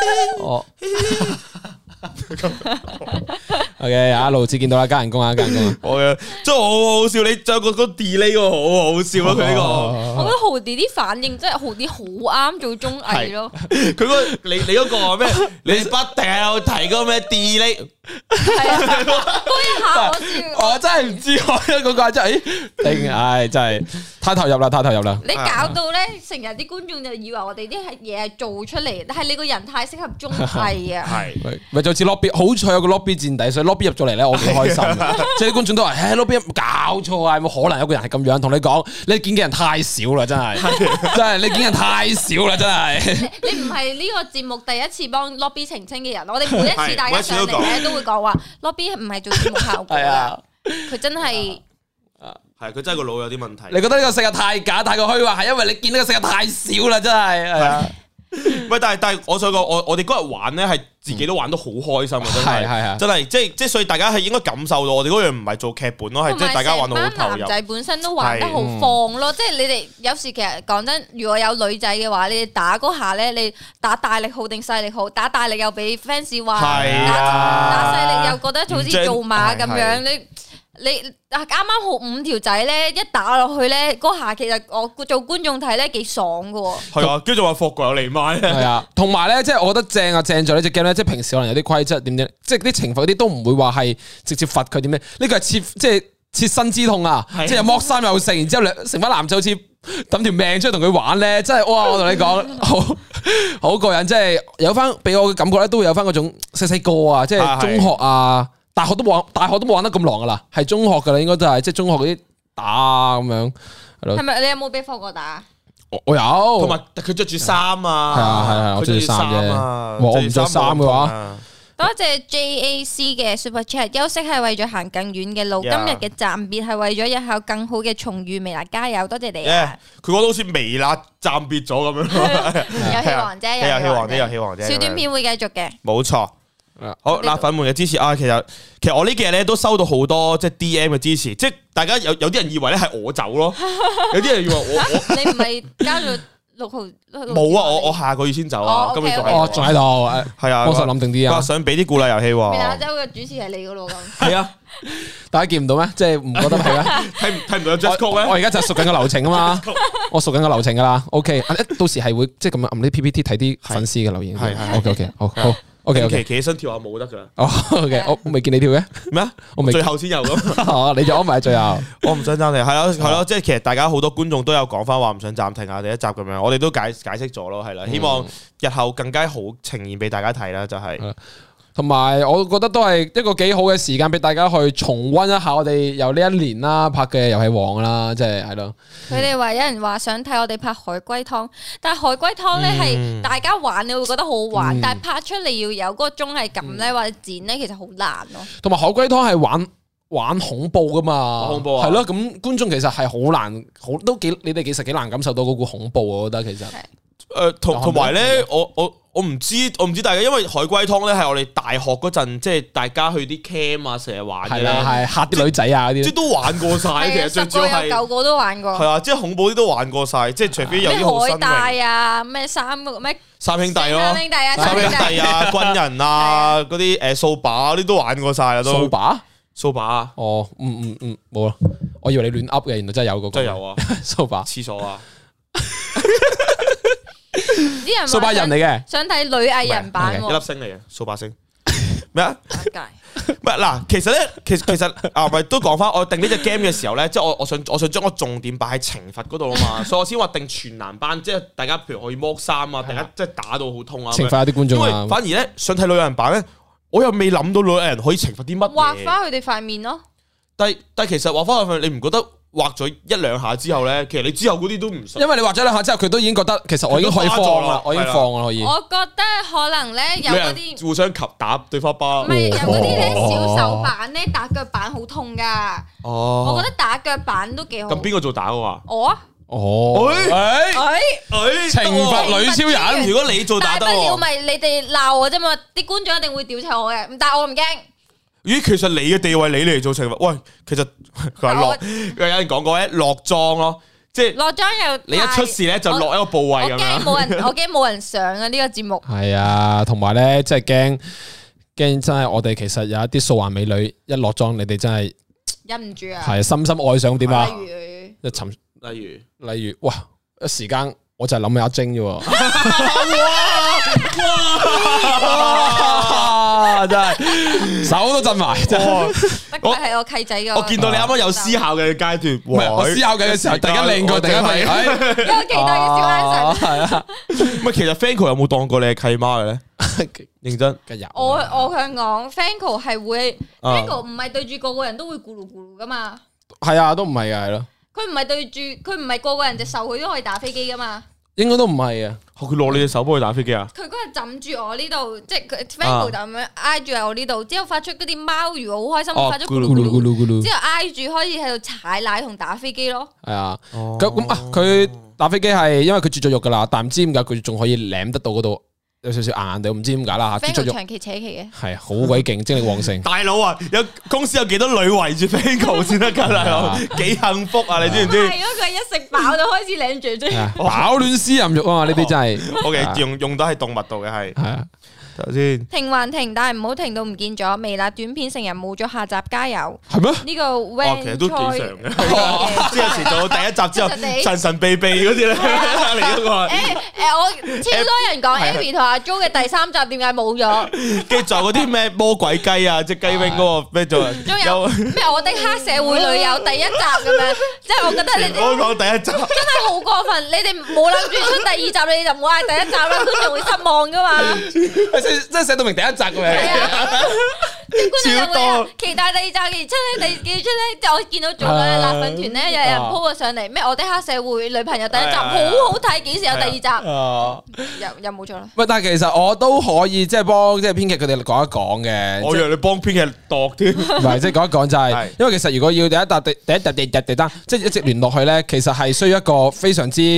OK， 一路至見到啦，加人工啊！我嘅真係好好笑，你仲有個 delay 個好好笑咯，佢呢個。 我覺得豪啲啲反應真係豪啲好啱做綜藝咯。 佢你嗰個咩？你不停有提嗰個咩 delay？ 係啊，嗰一下我笑。 我真係唔知嗰個真係定唉，真係太投入啦！ 你搞到咧，成日啲觀眾就以為我哋啲嘢係做出嚟，但係你個人太適合綜藝啊。 係咪就似 lobby， 好彩有個 lobby 墊底，所以 lobby 入咗嚟咧，我幾開心。即係啲觀眾都話：lobby 搞錯啊！有冇可能有個人係咁樣？同你講，你見嘅人太少啦，真係，真係你見人太少啦，真係。你唔係呢個節目第一次幫 lobby 澄清嘅人，我哋每一次大家上嚟咧都會講話 lobby 唔係做節目效果啊，佢真係。 係佢真係個腦有啲問題。 你覺得呢個世界太假、太過虛幻，係因為你見呢個世界太少啦，真係。係啊。 喂，但係我想講，我哋嗰日玩咧係自己都玩得好開心啊！真係，即係所以大家係應該感受到我哋嗰樣唔係做劇本咯，係即係大家玩到好投入。男仔本身都玩得好放咯，即係你哋有時其實講真，如果有女仔嘅話，你哋打嗰下咧，你打大力好定細力好？打大力又俾 fans 話，打細力又覺得好似做馬咁樣你啱啱好5條仔咧，一打落去咧，嗰下其實我做觀眾睇咧幾爽噶。係啊，跟住話霍國有嚟買。係啊，同埋咧，即係我覺得正在呢隻 game 咧，即係平時可能有啲規則點樣，即係啲懲罰嗰啲都唔會話係直接罰佢點樣。呢個係切身之痛啊！即係剝衫又食，然之後成班男仔好似抌條命出去同佢玩咧，真係哇！我同你講，好過癮，即係有翻俾我嘅感覺咧，都會有翻嗰種細個啊，即係中學啊。大學都冇玩得咁狼噶啦，係中學噶啦，應該都係即係中學嗰啲打咁樣，係咯。係咪你有冇俾霍哥打？我有，同埋佢着住衫啊，係我着住衫啫。我唔着衫嘅話，多謝 JAC 嘅 Super Chat。休息係為咗行更遠嘅路，今日嘅暫別係為咗日後更好嘅重遇。微辣加油，多謝你啊！佢講到好似微辣暫別咗咁樣。遊戲王啫，遊戲王啫，小短片會繼續嘅，冇錯。 好，辣粉們嘅支持啊！其實我呢幾日咧都收到好多即係 DM 嘅支持，即係大家有啲人以為咧係我走咯，有啲人以為我你唔係交咗6號冇啊！我下個月先走啊，今日仲喺度，係啊，幫手諗定啲啊， 想俾啲鼓勵遊戲喎。 微辣周嘅主持係你噶咯咁。 係啊， 大家見唔到咩？即係唔覺得係咩？ 睇唔到有 just code 咩？ 我而家就熟緊個流程啊嘛，我熟緊個流程噶啦。OK， 到時係會即係咁樣撳啲 PPT 睇啲粉絲嘅留言。係 OK， 好。OK， 企起身跳下舞得噶。 哦，OK， 我未見你跳嘅咩啊？我未最後先有咁。 哦，你就安埋最後。 我唔想暫停，係咯，即係其實大家好多觀眾都有講翻話唔想暫停啊，第一集咁樣，我哋都解釋咗咯，係啦，希望日後更加好呈現俾大家睇啦，就係。 同埋，我覺得都係一個幾好嘅時間俾大家去重溫一下我哋由呢一年啦拍嘅遊戲王啦，即係咯。 佢哋話有人話想睇我哋拍海龜湯，但係海龜湯咧係大家玩你會覺得好好玩，但係拍出嚟要有嗰個綜藝感咧或者剪咧，其實好難咯。 同埋海龜湯係玩恐怖噶嘛，恐怖係咯，咁觀眾其實係好難，你哋其實幾難感受到嗰個恐怖，我覺得其實。 同埋咧，我唔知大家，因為海龜湯咧係我哋大學嗰陣，即係大家去啲 camp 啊，成日玩嘅， 係嚇啲女仔啊嗰啲， 即係都玩過晒。其實最主要係 9個都玩過， 係啊，即係恐怖啲都玩過晒，即係除非有啲好新穎海帶啊，咩三兄弟咯， 三兄弟啊，軍人啊，嗰啲掃把嗰啲都玩過晒啦，都掃把哦，冇啦，我以為你亂噏嘅，原來真係有個， 真係有啊， 掃把廁所啊。 啲人掃把人嚟嘅， 想睇女藝人版， 一粒星嚟嘅掃把星咩啊？ 唔係嗱，其實咧，其實啊，咪都講翻，我定呢隻 game 嘅時候咧，即係我想將個重點擺喺懲罰嗰度啊嘛，所以我先話定全男班，即係大家譬如可以剝衫啊，大家即係打到好痛啊， 懲罰啲觀眾啊。 因為反而咧想睇女藝人版咧，我又未諗到女藝人可以懲罰啲乜嘢， 畫翻佢哋塊面咯。 但係其實畫翻佢，你唔覺得？畫咗1、2下之後咧，其實你之後嗰啲都唔信， 因為你畫咗2下之後，佢都已經覺得其實我已經可以放啦，我已經放啦可以。 我覺得可能咧有嗰啲互相打對方巴， 唔係有嗰啲咧小手板咧打腳板好痛噶。哦，我覺得打腳板都幾好。 咁邊個做打嘅話？ 我啊。 哦，懲罰女超人， 如果你做打得， 大不了咪你哋鬧我啫嘛，啲觀眾一定會屌柒我嘅，但係我唔驚。 咦，其實你嘅地位，你嚟做懲罰？喂，其實佢話有人講過咧，落妝咯，即係落妝又你一出事咧就落一個部位咁樣。 我驚冇人上啊！呢個節目係啊，同埋咧，即係驚真係我哋其實有一啲素顏美女一落妝，你哋真係忍唔住啊！ 係深深愛上點啊？ 例如， 哇！一時間我就係諗起阿晶啫。哇！真係手都震埋，真係。 不過係我契仔嘅。 我見到你啱啱有思考嘅階段， 唔係我思考緊嘅時候，突然間靚過，突然間發現， 有期待嘅小眼神。 係啊。 唔係，其實 Fanco 有冇當過你係契媽嘅咧？認真。 我想講 Fanco 係會 Fanco 唔係對住個個人都會咕嚕咕嚕噶嘛。 係啊，都唔係噶，係咯。 佢唔係對住，佢唔係個個人隻手佢都可以打飛機噶嘛。 應該都唔係啊！ 佢攞你隻手幫佢打飛機啊！ 佢嗰日枕住我呢度，即係佢 Fanco 就咁樣挨住喺我呢度，之後發出嗰啲貓如好開心，發出咕嚕咕嚕咕嚕，之後挨住開始喺度踩奶同打飛機咯。係啊， 咁啊，佢打飛機係因為佢絕咗肉噶啦，但唔知點解佢仲可以舐得到嗰度。有少少硬硬地，唔知點解啦吓。 Fanco 長期扯旗嘅， 係好鬼勁，精力旺盛。 大佬啊，有公司有幾多女圍住 Fanco 先得噶，大佬幾幸福啊！你知唔知？ 係咯，佢一食飽就開始領住啫。 飽暖思淫欲啊嘛，呢啲真係。 OK， 用到喺動物度嘅係。係啊。頭先停還停，但係唔好停到唔見咗。微辣短片成日冇咗下集，加油！ 係咩？ 呢個 Van 其實都幾常嘅，即係有時做到第一集之後，神神秘秘嗰啲咧嚟嗰個。 我超多人講 Abby 同阿 Jo 嘅第3集點解冇咗？ 跟住仲有嗰啲咩魔鬼雞啊，即係雞 wing 嗰個咩做？ 仲有咩我的黑社會女友第1集咁樣？即係我覺得你哋我講第1集真係好過分，你哋冇諗住出第2集，你哋就唔好嗌第1集啦，觀眾會失望噶嘛。 即係寫到明第1集嘅咩？ 超多期待第2集，出咧第2出咧，就我見到仲有辣粉團咧，有人 po 咗上嚟咩？我的黑社會女朋友第1集好好睇，幾時有第2集？又冇咗啦。喂， 但係其實我都可以即係幫即係編劇佢哋講一講嘅。 我以為你幫編劇度添， 唔係即係講一講就係，因為其實如果要第一集、第3，即係一直聯絡佢咧，其實係需要一個非常之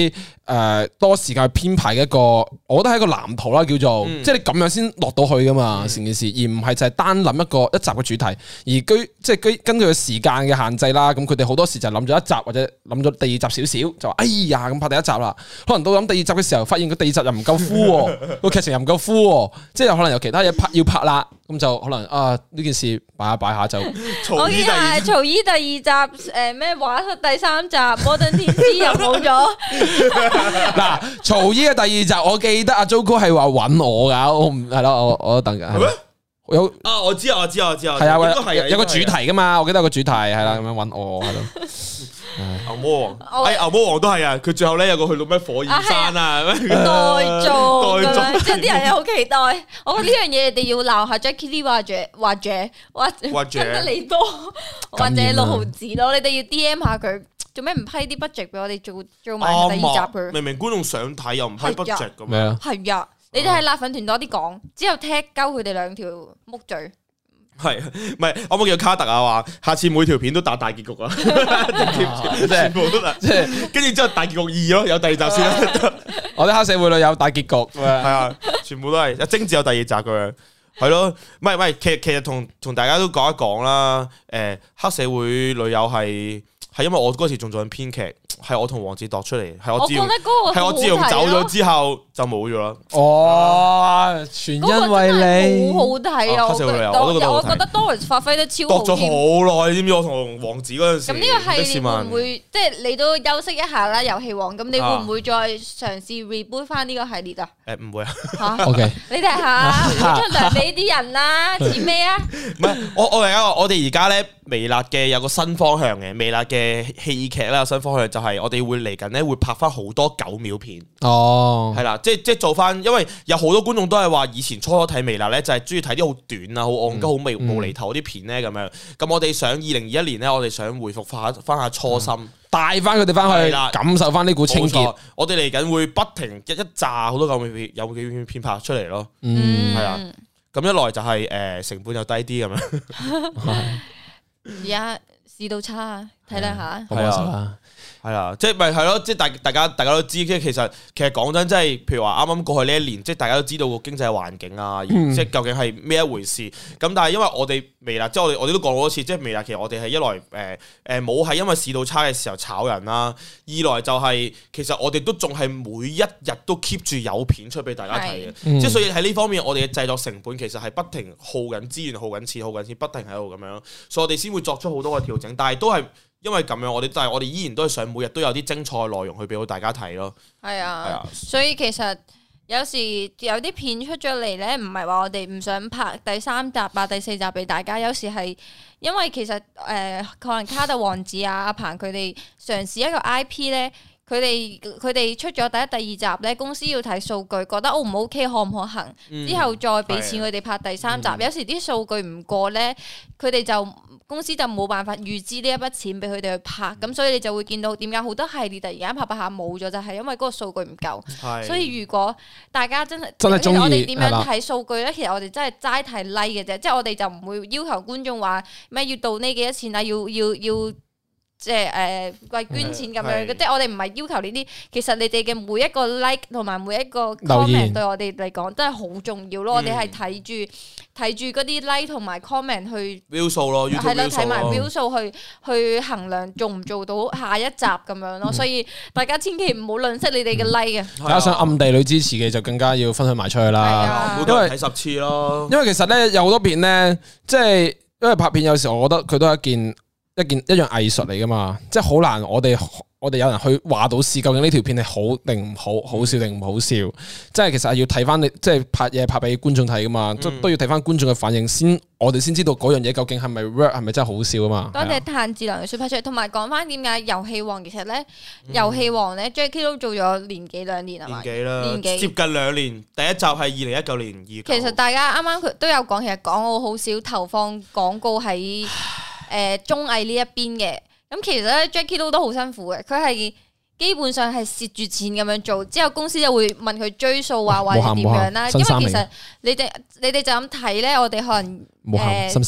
多時間去編排嘅一個，我覺得係一個藍圖啦，叫做即係你咁樣先落到去噶嘛成件事，而唔係就係單諗一集嘅主題，而即係根據個時間嘅限制啦，咁佢哋好多時就諗咗一集或者諗咗第二集少少，就話哎呀咁拍第一集啦，可能到諗第二集嘅時候，發現個第二集又唔夠敷，個劇情又唔夠敷，即係可能有其他嘢要拍啦，咁就可能呢件事擺下就。 我見係曹姨第二集咩話出第3集摩登天師又冇咗。 嗱，曹姨嘅第2集，我記得阿 Jojo 係話揾我噶，我唔係咯，我都等緊。係咩？有我知啊， 係啊，有個主題噶嘛，我記得有個主題係啦，咁樣揾我係咯。 牛魔王，牛魔王都係啊！佢最後咧有個去到咩火焰山啊， 代做，即係啲人又好期待。我覺得呢樣嘢你哋要鬧下 Jackie Lee 或者跟得你多，或者6毫子咯。你哋要 DM 下佢，做咩唔批啲 budget 俾我哋做埋第2集佢？ 明明觀眾想睇又唔批 budget 咁咩啊？ 係呀，你哋喺辣粉團多啲講，之後踢鳩佢哋2條木嘴。 係，唔係我冇叫卡特啊？話下次每條片都打大結局啊！全部都即係，跟住之後大結局2咯，有第2集先啦。 我哋黑社會裏有大結局，係啊，全部都係。精緻有第2集咁樣，係咯。唔係，其實同大家都講一講啦。黑社會女友係因為我嗰時仲做緊編劇，係我同黃子度出嚟，係我自從走咗之後就冇咗啦。 哦，全因為你好好睇啊！我覺得 Doris 發揮得超好。 度咗好耐，知唔知？我同黃子嗰陣時。咁呢個系列會唔會即係你都休息一下啦？遊戲王，咁你會唔會再嘗試 reboot 翻呢個系列啊？ 唔會啊。 OK， 你睇下，出糧俾啲人啦，似咩啊？ 唔係，我哋而家咧微辣嘅有個新方向嘅，微辣嘅戲劇啦有新方向就係我哋會嚟緊咧會拍翻好多9秒片。 哦， 係啦，即係做翻，因為有好多觀眾都係話以前初睇微辣咧就係中意睇啲好短啊、好戇鳩、好無厘頭啲片咧咁樣。咁我哋想2021年咧，我哋想回復翻下初心，帶翻佢哋翻去感受翻呢股清潔。我哋嚟緊會不停一炸好多9秒片拍出嚟咯。係啊，咁一來就係成本又低啲咁樣。 而家市道差啊，體諒下。 係啊，即係咪係咯？即係大家都知，即係其實講真，即係譬如話啱啱過去呢1年，即係大家都知道個經濟環境啊，即係究竟係咩一回事。咁但係因為我哋微辣，即係我哋都講過好多次，即係微辣其實我哋係一來冇係因為市道差嘅時候炒人啦，二來就係其實我哋都仲係每一日都 keep 住有片出俾大家睇嘅。即係所以喺呢方面，我哋嘅製作成本其實係不停耗緊資源、耗緊錢、不停喺度咁樣，所以我哋先會作出好多嘅調整，但係都係。因為咁樣，但係我哋依然都係想每日都有啲精彩嘅內容去俾到大家睇咯。係啊， 所以其實有時有啲片出咗嚟咧，唔係話我哋唔想拍第3集啊、第4集俾大家，有時係因為其實可能卡特王子啊、阿鵬佢哋嘗試一個 IP 咧，佢哋出咗第1、第2集咧，公司要睇數據，覺得 O 唔 OK 可唔可行，之後再俾錢佢哋拍第3集。有時啲數據唔過咧，佢哋公司就冇辦法預支呢一筆錢俾佢哋去拍，咁所以你就會見到點解好多系列突然間拍下冇咗，就係因為嗰個數據唔夠。所以如果大家真係中意，我哋點樣睇數據咧？其實我哋真係齋睇 like 嘅啫，即係我哋就唔會要求觀眾話咩要到呢幾多錢啊，要即係為捐錢咁樣嘅，即係我哋唔係要求呢啲。其實你哋嘅每一個 like 同埋每一個 comment 對我哋嚟講都係好重要咯。我哋係睇住嗰啲 like 同埋 comment 去 view 數咯， 係啦，睇埋 view 數去衡量做唔做到下一集咁樣咯。所以大家千祈唔好吝嗇你哋嘅 like 啊！ 大家想暗地裏支持嘅就更加要分享埋出去啦。 每個人睇10次咯。 因為其實咧有好多片咧，即係因為拍片有時候我覺得佢都係一樣藝術嚟噶嘛，即係好難我哋有人去話到事，究竟呢條片係好定唔好，好笑定唔好笑，即係其實係要睇翻你，即係拍嘢拍俾觀眾睇噶嘛，都要睇翻觀眾嘅反應先，我哋先知道嗰樣嘢究竟係咪 work， 係咪真係好笑啊嘛。多謝炭治郎嘅 super chat，同埋講翻點解遊戲王其實咧，遊戲王咧 Jackie 都做咗年幾2年係嘛？年幾接近2年，第一集係2019年2月。 其實大家啱啱佢都有講，其實港澳好少投放廣告喺綜藝呢一邊嘅。咁其實咧 Jackie 都好辛苦嘅，佢係基本上係蝕住錢咁樣做，之後公司就會問佢追數啊，或者點樣啦。因為其實你哋就咁睇咧，我哋可能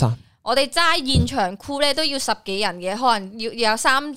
我哋齋現場 crew 咧都要10幾人嘅，可能要有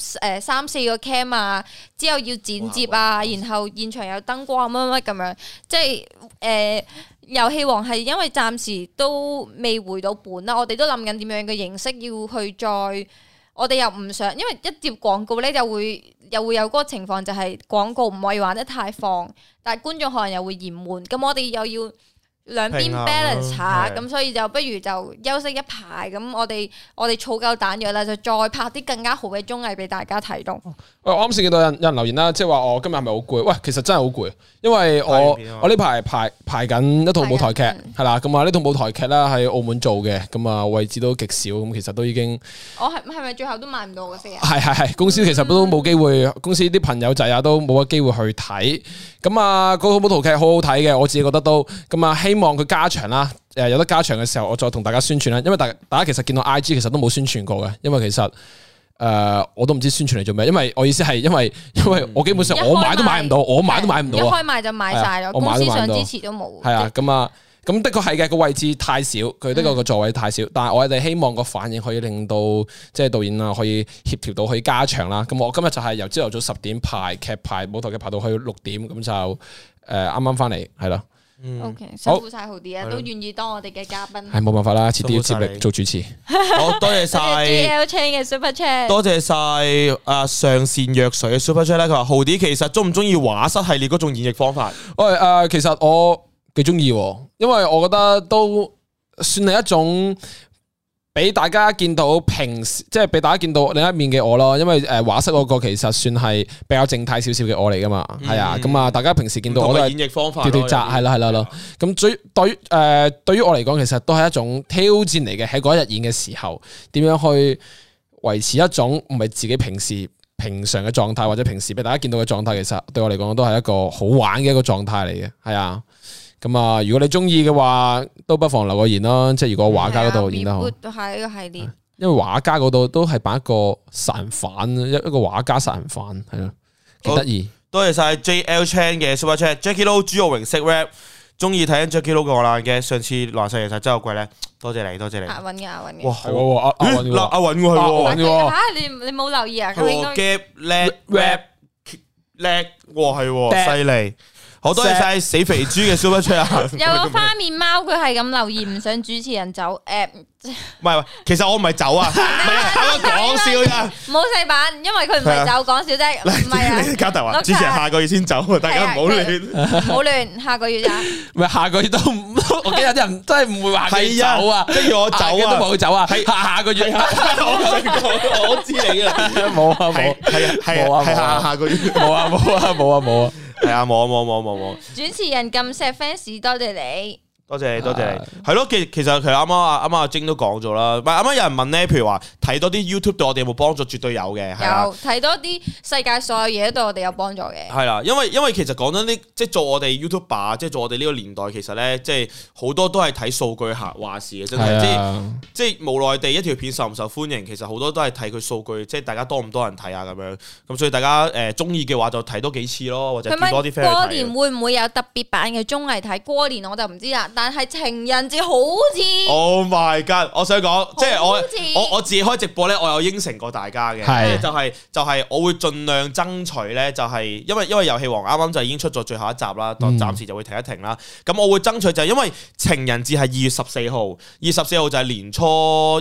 3、4個 cam 啊，之後要剪接啊，然後現場有燈光乜乜咁樣，即係遊戲王係因為暫時都未回到本啦，我哋都諗緊點樣嘅形式要去再，我哋又唔想，因為一接廣告咧又會有嗰個情況，就係廣告唔可以玩得太放，但係觀眾可能又會嫌悶，咁我哋又要兩邊 balance 下，咁所以就不如就休息一排，咁我哋儲夠彈藥啦，就再拍啲更加好嘅綜藝俾大家睇到。 我啱先見到有人留言啦，即係話我今日係咪好攰？喂，其實真係好攰，因為我呢排排緊一套舞台劇，係啦，咁啊呢套舞台劇啦喺澳門做嘅，咁啊位置都極少，咁其實都已經我係咪最後都買唔到嘅飛啊？ 係公司其實都冇機會，公司啲朋友仔啊都冇乜機會去睇，咁啊嗰套舞台劇好好睇嘅，我自己覺得都咁啊希望佢加長啦，有得加長嘅時候，我再同大家宣傳啦。因為大家其實見到 IG 其實都冇宣傳過嘅，因為其實我都唔知宣傳嚟做咩。因為我意思係因為我基本上我買都買唔到，一開賣就買晒咗，公司想支持都冇。 係啊，咁的確係嘅，個位置太少，佢的確個座位太少。但係我哋希望個反應可以令到即係導演啊可以協調到可以加長啦。咁我今日就係由朝頭早10點排舞台劇排到去6點，咁就啱啱翻嚟係咯。 OK， 辛苦晒豪啲啊，都願意當我哋嘅嘉賓。 係冇辦法啦，遲啲要接力做主持。 好多謝晒 JL Chain 嘅 Super Chat， 多謝晒上善若水嘅 Super Chat 咧。佢話豪啲其實中唔中意畫室系列嗰種演繹方法？ 喂其實我幾中意，因為我覺得都算係一種俾大家見到即係俾大家見到另一面嘅我咯。因為畫室嗰個其實算係比較靜態少少嘅我嚟噶嘛，係啊。咁啊，大家平時見到我都係演繹方法， 跳紮係啦。咁對於我嚟講，其實都係一種挑戰嚟嘅。喺嗰一日演嘅時候，點樣去維持一種唔係自己平常嘅狀態，或者平時俾大家見到嘅狀態，其實對我嚟講都係一個好玩嘅一個狀態嚟嘅，係啊。咁啊，如果你中意嘅話，都不妨留個言啦。即係如果畫家嗰度演得好， 都係一個系列。 因為畫家嗰度都係扮一個殺人犯，一個畫家殺人犯，係咯，幾得意。 多謝晒 JL Chan 嘅 Super Chat，Jackie Lou 朱浩榮識 rap， 中意睇緊 Jackie Lou 嘅我爛嘅。上次爛晒其實真係好貴咧，多謝你。阿韻嘅。 哇，係阿韻喎， 嚇你冇留意啊？ 佢應該 rap 叻，哇係犀利。好多謝晒死肥豬嘅 Super Chat 啊！ 有個花面貓佢係咁留言，唔想主持人走。 唔係，其實我唔係走啊，唔係啱啱講笑啫。 冇細版，因為佢唔係走，講笑啫。唔係啊， 加頭話主持人下個月先走，大家唔好亂， 唔好亂。下個月咋？ 唔係下個月都唔，我記得啲人真係唔會話佢走啊， 即係要我走啊， 都冇走啊。係下個月， 我知你啦， 冇啊冇， 係下個月， 冇啊。 係啊，冇。 主持人咁錫 fans，多謝你。 多謝你，係咯。其實啱啱阿晶都講咗啦。唔係啱啱有人問咧，譬如話睇多啲 YouTube 對我哋有冇幫助？絕對有嘅。 有睇多啲世界所有嘢對我哋有幫助嘅。 係啦，因為其實講真啲，即係做我哋 YouTuber，即係做我哋呢個年代，其實咧即係好多都係睇數據話事嘅，真係即係無奈地一條片受唔受歡迎，其實好多都係睇佢數據，即係大家多唔多人睇啊咁樣。咁所以大家中意嘅話就睇多幾次咯，或者見多啲 friend 去睇。 過年會唔會有特別版嘅綜藝睇？過年我就唔知啦。但係情人節好似 ，Oh my God！我想講，即係我自己開直播咧，我有應承過大家嘅，就係我會盡量爭取咧，就係因為遊戲王啱啱就已經出咗最後一集啦，暫時就會停一停啦。咁我會爭取就係因為情人節係2月14號，2月14號就係年初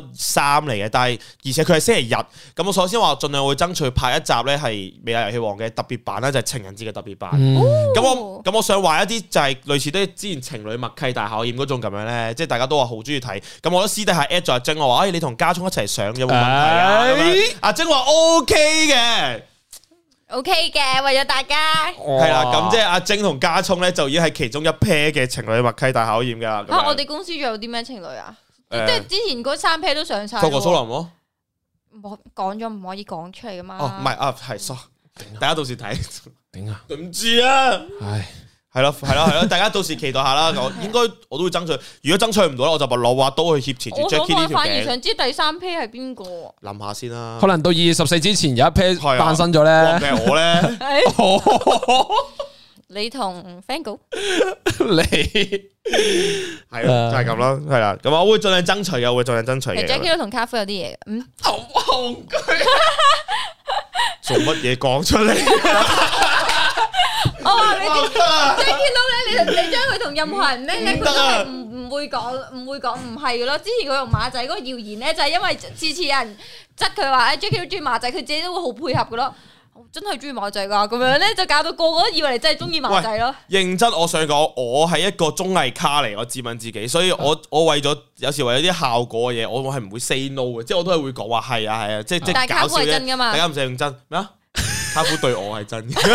3嚟嘅，但係而且佢係星期日，咁我首先話盡量會爭取拍一集咧係未來遊戲王嘅特別版啦，就係情人節嘅特別版。咁我想話一啲就係類似啲之前情侶默契大考驗嗰種咁樣咧，即係大家都話好中意睇，咁我都私底下 at 咗阿晶，我話你同家聰一齊上有冇問題啊？阿晶話 OK 嘅 ，OK 嘅，為咗大家係啦，咁即係阿晶同家聰咧就已經係其中一 pair 嘅情侶默契大考驗噶啦。 我哋公司仲有啲咩情侶啊？即係之前嗰3 pair 都上晒。 蘇國蘇林咯， 講咗唔可以講出嚟噶嘛？ 哦，唔係啊，係 sorry，大家到時睇頂啊， 對唔住啊， 唉。 係咯，大家到時期待下啦。應該我都會爭取，如果爭取唔到咧，我就攞把刀去挾持住 Jackie 呢條頸。 我反而想知第3 pair 係邊個？ 諗下先啦。可能到2月14之前有一 pair 誕生咗咧。 係我咧。 你同 Fango， 你係咯，就係咁咯，係啦。咁我會盡量爭取嘅，我會盡量爭取嘅。 Jackie 都同卡夫有啲嘢嘅， 好戇居， 做乜嘢講出嚟？ 我話你Jackie 咧，你將佢同任何人咧，佢都係唔會講唔係嘅咯。之前佢同馬仔嗰個謠言咧，就係因為次次有人質佢話Jackie 都中意馬仔，佢自己都會好配合嘅咯。我真係中意馬仔噶，咁樣咧就搞到個個都以為你真係中意馬仔咯。 認真，我想講，我係一個綜藝咖嚟，我自問自己，所以我為咗有時為咗啲效果嘅嘢，我係唔會 say no 嘅，即係我都係會講話係啊，即係搞笑啫。大家唔使認真咩啊？卡夫對我係真嘅，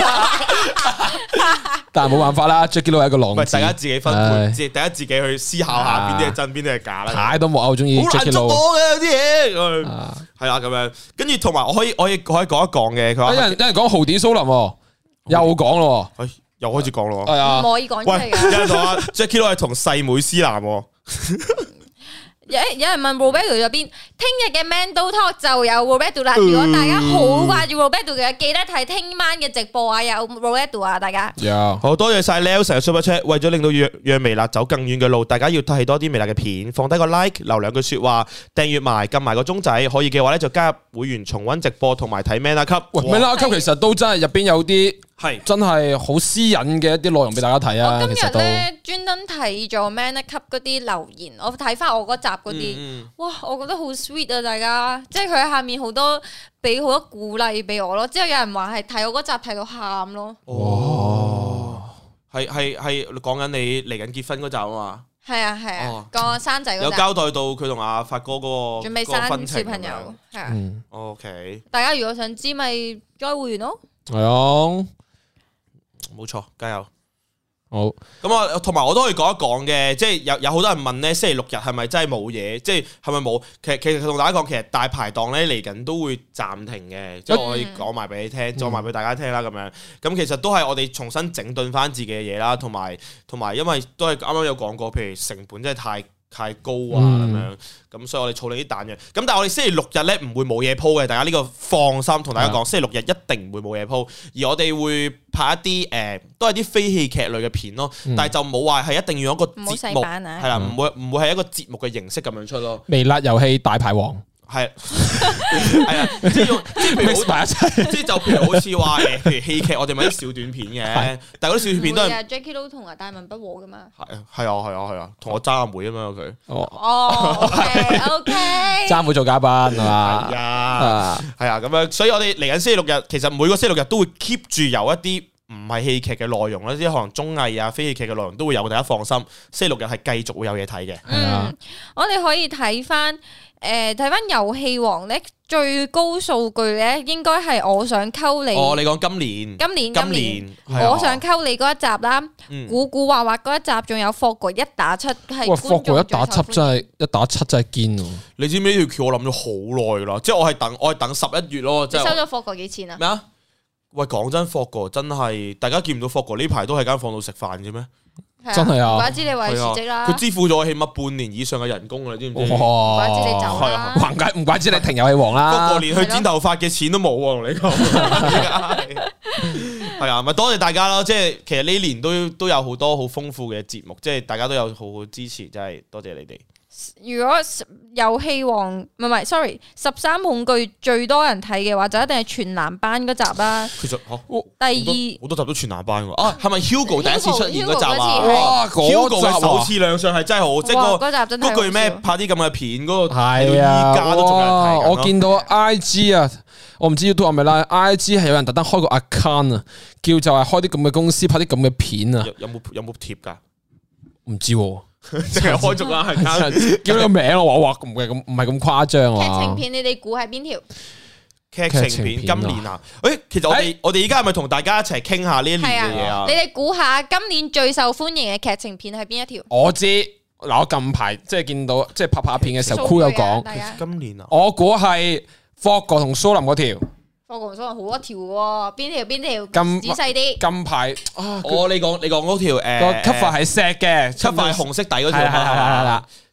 但係冇辦法啦。Jackie Lou 係一個浪子， 大家自己分配，大家自己去思考下邊啲係真，邊啲係假啦。 太多木偶中意 Jackie Lou 嘅有啲嘢，係啦咁樣。跟住同埋我可以講一講嘅。佢話有人講豪迪蘇林，又講咯， 又開始講咯。 係啊， 唔可以講出嚟嘅。 有人話 Jackie Lou 係同細妹思南。 有人問 Roberto 入邊，聽日嘅 Mando Talk 就有 Roberto 啦。如果大家好掛住 Roberto 嘅，記得睇聽晚嘅直播啊，有 Roberto 啊，大家。 好多謝晒 Nelson 嘅 Super Chat，為咗令到讓微辣走更遠嘅路，大家要睇多啲微辣嘅片，放低個 like，留兩句說話，訂閱埋，撳埋個鐘仔，可以嘅話咧就加入會員重溫直播同埋睇 Man 級。 Man 級其實都真係入邊有啲。係真係好私隱嘅一啲內容俾大家睇啊！ 我今日咧專登睇咗 Man 級嗰啲留言，我睇翻我嗰集嗰啲，哇！我覺得好 sweet 啊，大家，即係佢喺下面好多俾好多鼓勵俾我咯。之後有人話係睇我嗰集睇到喊咯。 哦，係講緊你嚟緊結婚嗰集啊嘛。 係啊，個生仔嗰集有交代到佢同阿發哥嗰個準備生小朋友，係啊。 OK， 大家如果想知咪開會員咯。 係啊。 冇錯，加油！ 好， 咁啊，同埋我都可以講一講嘅，即係有好多人問咧，星期六日係咪真係冇嘢？即係係咪冇？其實同大家講，其實大排檔咧嚟緊都會暫停嘅，即係我可以講埋俾你聽，講埋俾大家聽啦，咁樣。咁其實都係我哋重新整頓翻自己嘅嘢啦，同埋因為都係啱啱有講過，譬如成本真係太高啊咁樣，咁所以我哋儲你啲彈藥。咁但係我哋星期六日咧唔會冇嘢鋪嘅，大家呢個放心，同大家講，星期六日一定唔會冇嘢鋪。而我哋會拍一啲都係啲非戲劇類嘅片咯，但係就冇話係一定要一個節目，係啦，唔會係一個節目嘅形式咁樣出咯。 微辣遊戲大牌王。係啊，即係譬如好埋一齊，即係就譬如好似話譬如戲劇，我哋咪啲小短片嘅，但係嗰啲小短片都係 Jackie Lou 同阿大文不和噶嘛。 係啊，同我爭阿妹啊嘛佢。 OK， 爭妹做嘉賓係嘛？ 係啊，咁樣，所以我哋嚟緊星期六日，其實每個星期六日都會 keep 住有一啲唔係戲劇嘅內容啦，啲可能綜藝啊、非戲劇嘅內容都會有，大家放心。星期六日係繼續會有嘢睇嘅。 我哋可以睇翻。睇翻遊戲王咧，最高數據咧，應該係我想溝你。 哦，你講今年， 我想溝你嗰一集啦，古古惑惑嗰一集，仲有霍哥1打7係。 哇，霍哥1打7真係1打7真係堅喎！ 你知唔知呢條橋我諗咗好耐噶啦，即係我係等11月咯。 你收咗霍哥幾錢啊？ 咩啊？喂，講真，霍哥真係大家見唔到霍哥呢排都喺間房度食飯嘅咩？ 真係啊！ 唔怪之你為辭職啦。 佢支付咗起碼半年以上嘅人工啦，知唔知？ 哇！ 唔怪之你走啦。 唔怪之你停遊戲王啦。 霍哥連去剪頭髮嘅錢都冇喎，同你講。係啊，咪多謝大家咯！即係其實呢年都有好多好豐富嘅節目，即係大家都有好好支持，真係多謝你哋。 如果遊戲王唔係 sorry 13恐懼最多人睇嘅話，就一定係全男班嗰集啦。 其實第二好多集都全男班喎。啊，係咪 Hugo 第一次出現嗰集啊？ 哇 ！Hugo 嘅首次亮相係真係好，即係嗰集真係嗰句咩拍啲咁嘅片嗰個係依家都仲有人睇。 我見到 IG 啊，我唔知 YouTube 係咪啦。IG 係有人特登開個 account 啊，叫就係開啲咁嘅公司拍啲咁嘅片啊。 有冇貼㗎？ 唔知喎。 淨係開咗啦，係叫個名我話唔係咁誇張啊！ 劇情片你哋估係邊條？ 劇情片今年啊？其實我哋而家係咪同大家一齊傾下呢一年嘅嘢啊？ 你哋估下今年最受歡迎嘅劇情片係邊一條？ 我知嗱，我近排即係見到即係拍片嘅時候，酷有講今年啊， 我估係霍哥同蘇林嗰條。 霍哥同蘇林好多條喎，邊條？咁仔細啲。 近排你講嗰條個 cover 係石嘅 ，cover 係紅色底嗰條係啦。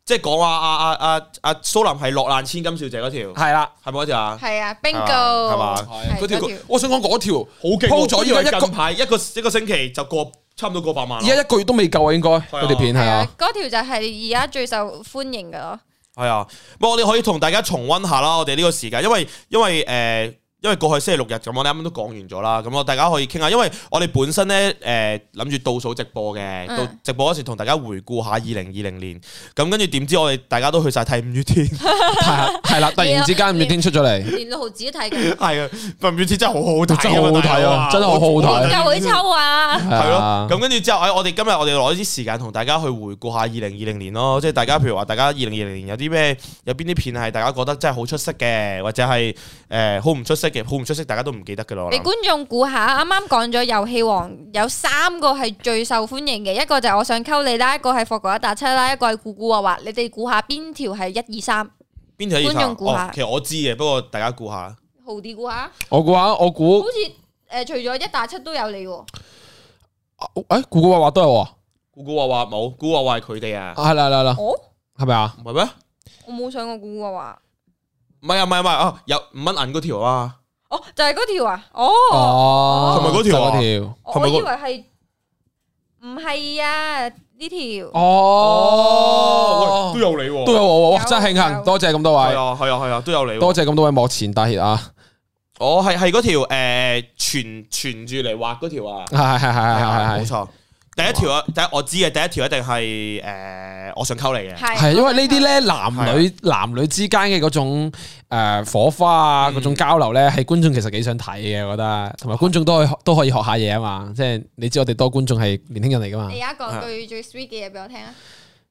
即係講話阿蘇林係落難千金小姐嗰條， 係啦， 係咪嗰條啊？ 係啊，bingo 係嘛？ 嗰條，我想講嗰條好勁， 鋪咗依家近排一個星期就差唔多過百萬。 而家1個月都未夠啊，應該嗰條片係啊。 嗰條就係而家最受歡迎嘅咯。 係啊，不過我哋可以同大家重溫下啦，我哋呢個時間，因為過去星期六日咁，我哋啱啱都講完咗啦，咁我大家可以傾下，因為我哋本身咧諗住倒數直播嘅，到直播嗰時同大家回顧下2020年，咁跟住點知我哋大家都去晒睇五月天，係啦，突然之間五月天出咗嚟， 連6毫子都睇嘅， 係啊，五月天真係好好睇， 真係好好睇啊，真係好好睇， 夠佢抽啊， 係咯，咁跟住之後，我哋今日我哋攞啲時間同大家去回顧下2020年咯，即係大家譬如話大家2020年有啲咩，有邊啲片係大家覺得真係好出色嘅，或者係好唔出色嘅，好唔出色大家都唔記得嘅咯。 你觀眾估下，啱啱講咗遊戲王有3個係最受歡迎嘅，一個就係我想溝你啦，一個係霍哥187啦，一個係估估話，你哋估下邊條係1、2、3？邊條？觀眾估下。 其實我知嘅，不過大家估下。 豪啲估下。 我估下，我估。 好似除咗187都有你喎。 估估話都有喎。 估估話冇，估估話係佢哋啊。 係啦。 哦。 係咪啊？ 唔係咩？ 我冇上過估估話。 唔係啊，有5蚊銀嗰條啊。 哦，就係嗰條啊！哦， 係咪嗰條啊？ 我以為係唔係啊？呢條哦，都有你喎， 都有我，真係慶幸，多謝咁多位， 係啊，都有你， 多謝咁多位幕前大熱啊！ 我係嗰條傳住嚟畫嗰條啊，係，冇錯。第一條啊，我知嘅第一條一定係我想溝你嘅， 係因為呢啲咧男女之間嘅嗰種火花啊，嗰種交流咧，係觀眾其實幾想睇嘅，我覺得，同埋觀眾都可以學下嘢啊嘛，即係你知我哋多觀眾係年輕人嚟噶嘛。 你而家講句最 sweet 嘅嘢俾我聽啊！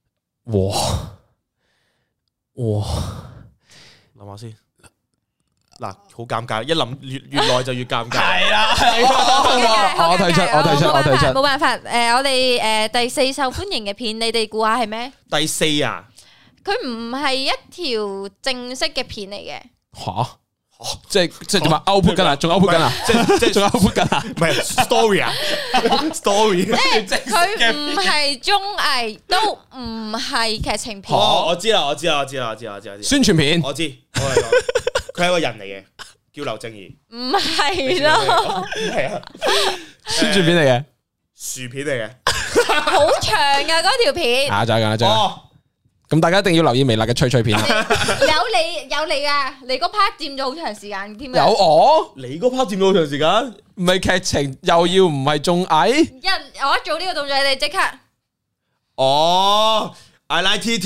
哇， 諗下先。嗱，好尷尬，一諗越耐就越尷尬。係啦， 我提出， 冇辦法。我哋第4受歡迎嘅片，你哋估下係咩？ 第4啊？ 佢唔係一條正式嘅片嚟嘅。 吓？即係點啊 ？output 緊啊？仲 output 緊啊？即係仲 output 緊啊？ 唔係 story 啊 ？story 即係佢唔係綜藝，都唔係劇情片。 哦，我知啦。 宣傳片， 我知。佢係一個人嚟嘅，叫劉正義。 唔係咯， 係啊， 宣傳片嚟嘅， 薯片嚟嘅， 好長噶嗰條片。 就係咁。咁大家一定要留意微辣嘅吹吹片。 有你啊！你嗰 part 佔咗好長時間添。 有我？ 你嗰 part 佔咗好長時間？ 唔係劇情，又要唔係綜藝？ 我一做呢個動作，你哋即刻。 I like TT，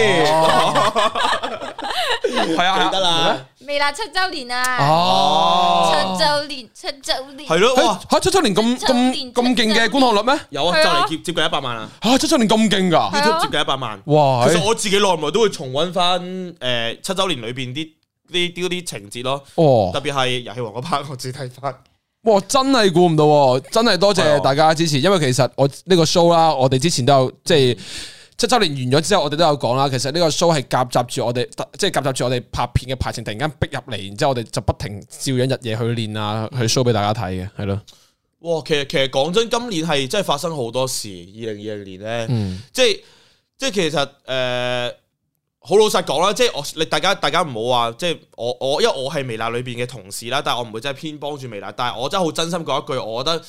係啊，記得啦。 微辣7周年啊！7周年， 係咯，哇 ！7周年咁勁嘅觀看率咩？ 有啊，就嚟接近100萬啦。 7周年咁勁噶 ，YouTube 接近100萬。 哇！ 其實我自己耐唔耐都會重溫翻7周年裏邊啲情節咯。特別係遊戲王嗰 part，我自己睇翻。 哇！真係估唔到，真係多謝大家支持。因為其實我呢個 show 啦，我哋之前都有即係。7周年完咗之後，我哋都有講啦。其實呢個 show 係夾雜住我哋，即係夾雜住我哋拍片嘅排程，突然間逼入嚟，然之後我哋就不停照樣日夜去練啊，去 show 俾大家睇嘅，係咯。 哇！其實講真，今年係真係發生好多事。2020年咧，即係其實好老實講啦，即係大家唔好話，即係我因為我係微辣裏邊嘅同事啦，但係我唔會真係偏幫住微辣，但係我真係好真心講一句，我覺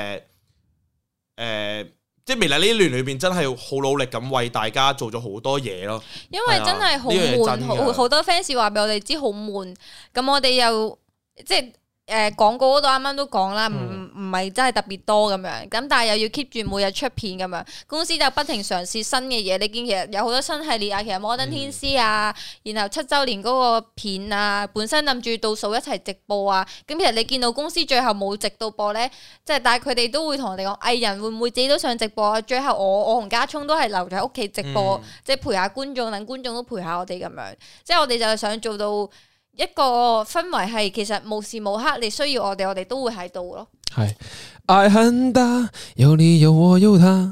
得即係微辣呢一年裏邊真係好努力咁為大家做咗好多嘢咯， 因為真係好悶，好多 fans 話俾我哋知好悶，咁我哋又即係廣告嗰度啱啱都講啦，唔係真係特別多咁樣，咁但係又要 keep 住每日出片咁樣，公司就不停嘗試新嘅嘢。你見其實有好多新系列啊，其實摩登天師啊，然後7周年嗰個片啊，本身諗住倒數一齊直播啊，咁其實你見到公司最後冇直到播咧，即係但係佢哋都會同我哋講，藝人會唔會自己都想直播啊？最後我同家聰都係留咗喺屋企直播，即係陪下觀眾，等觀眾都陪下我哋咁樣，即係我哋就係想做到。一個氛圍係其實無時無刻你需要我哋都會喺度咯。 係愛很大，有你有我有他。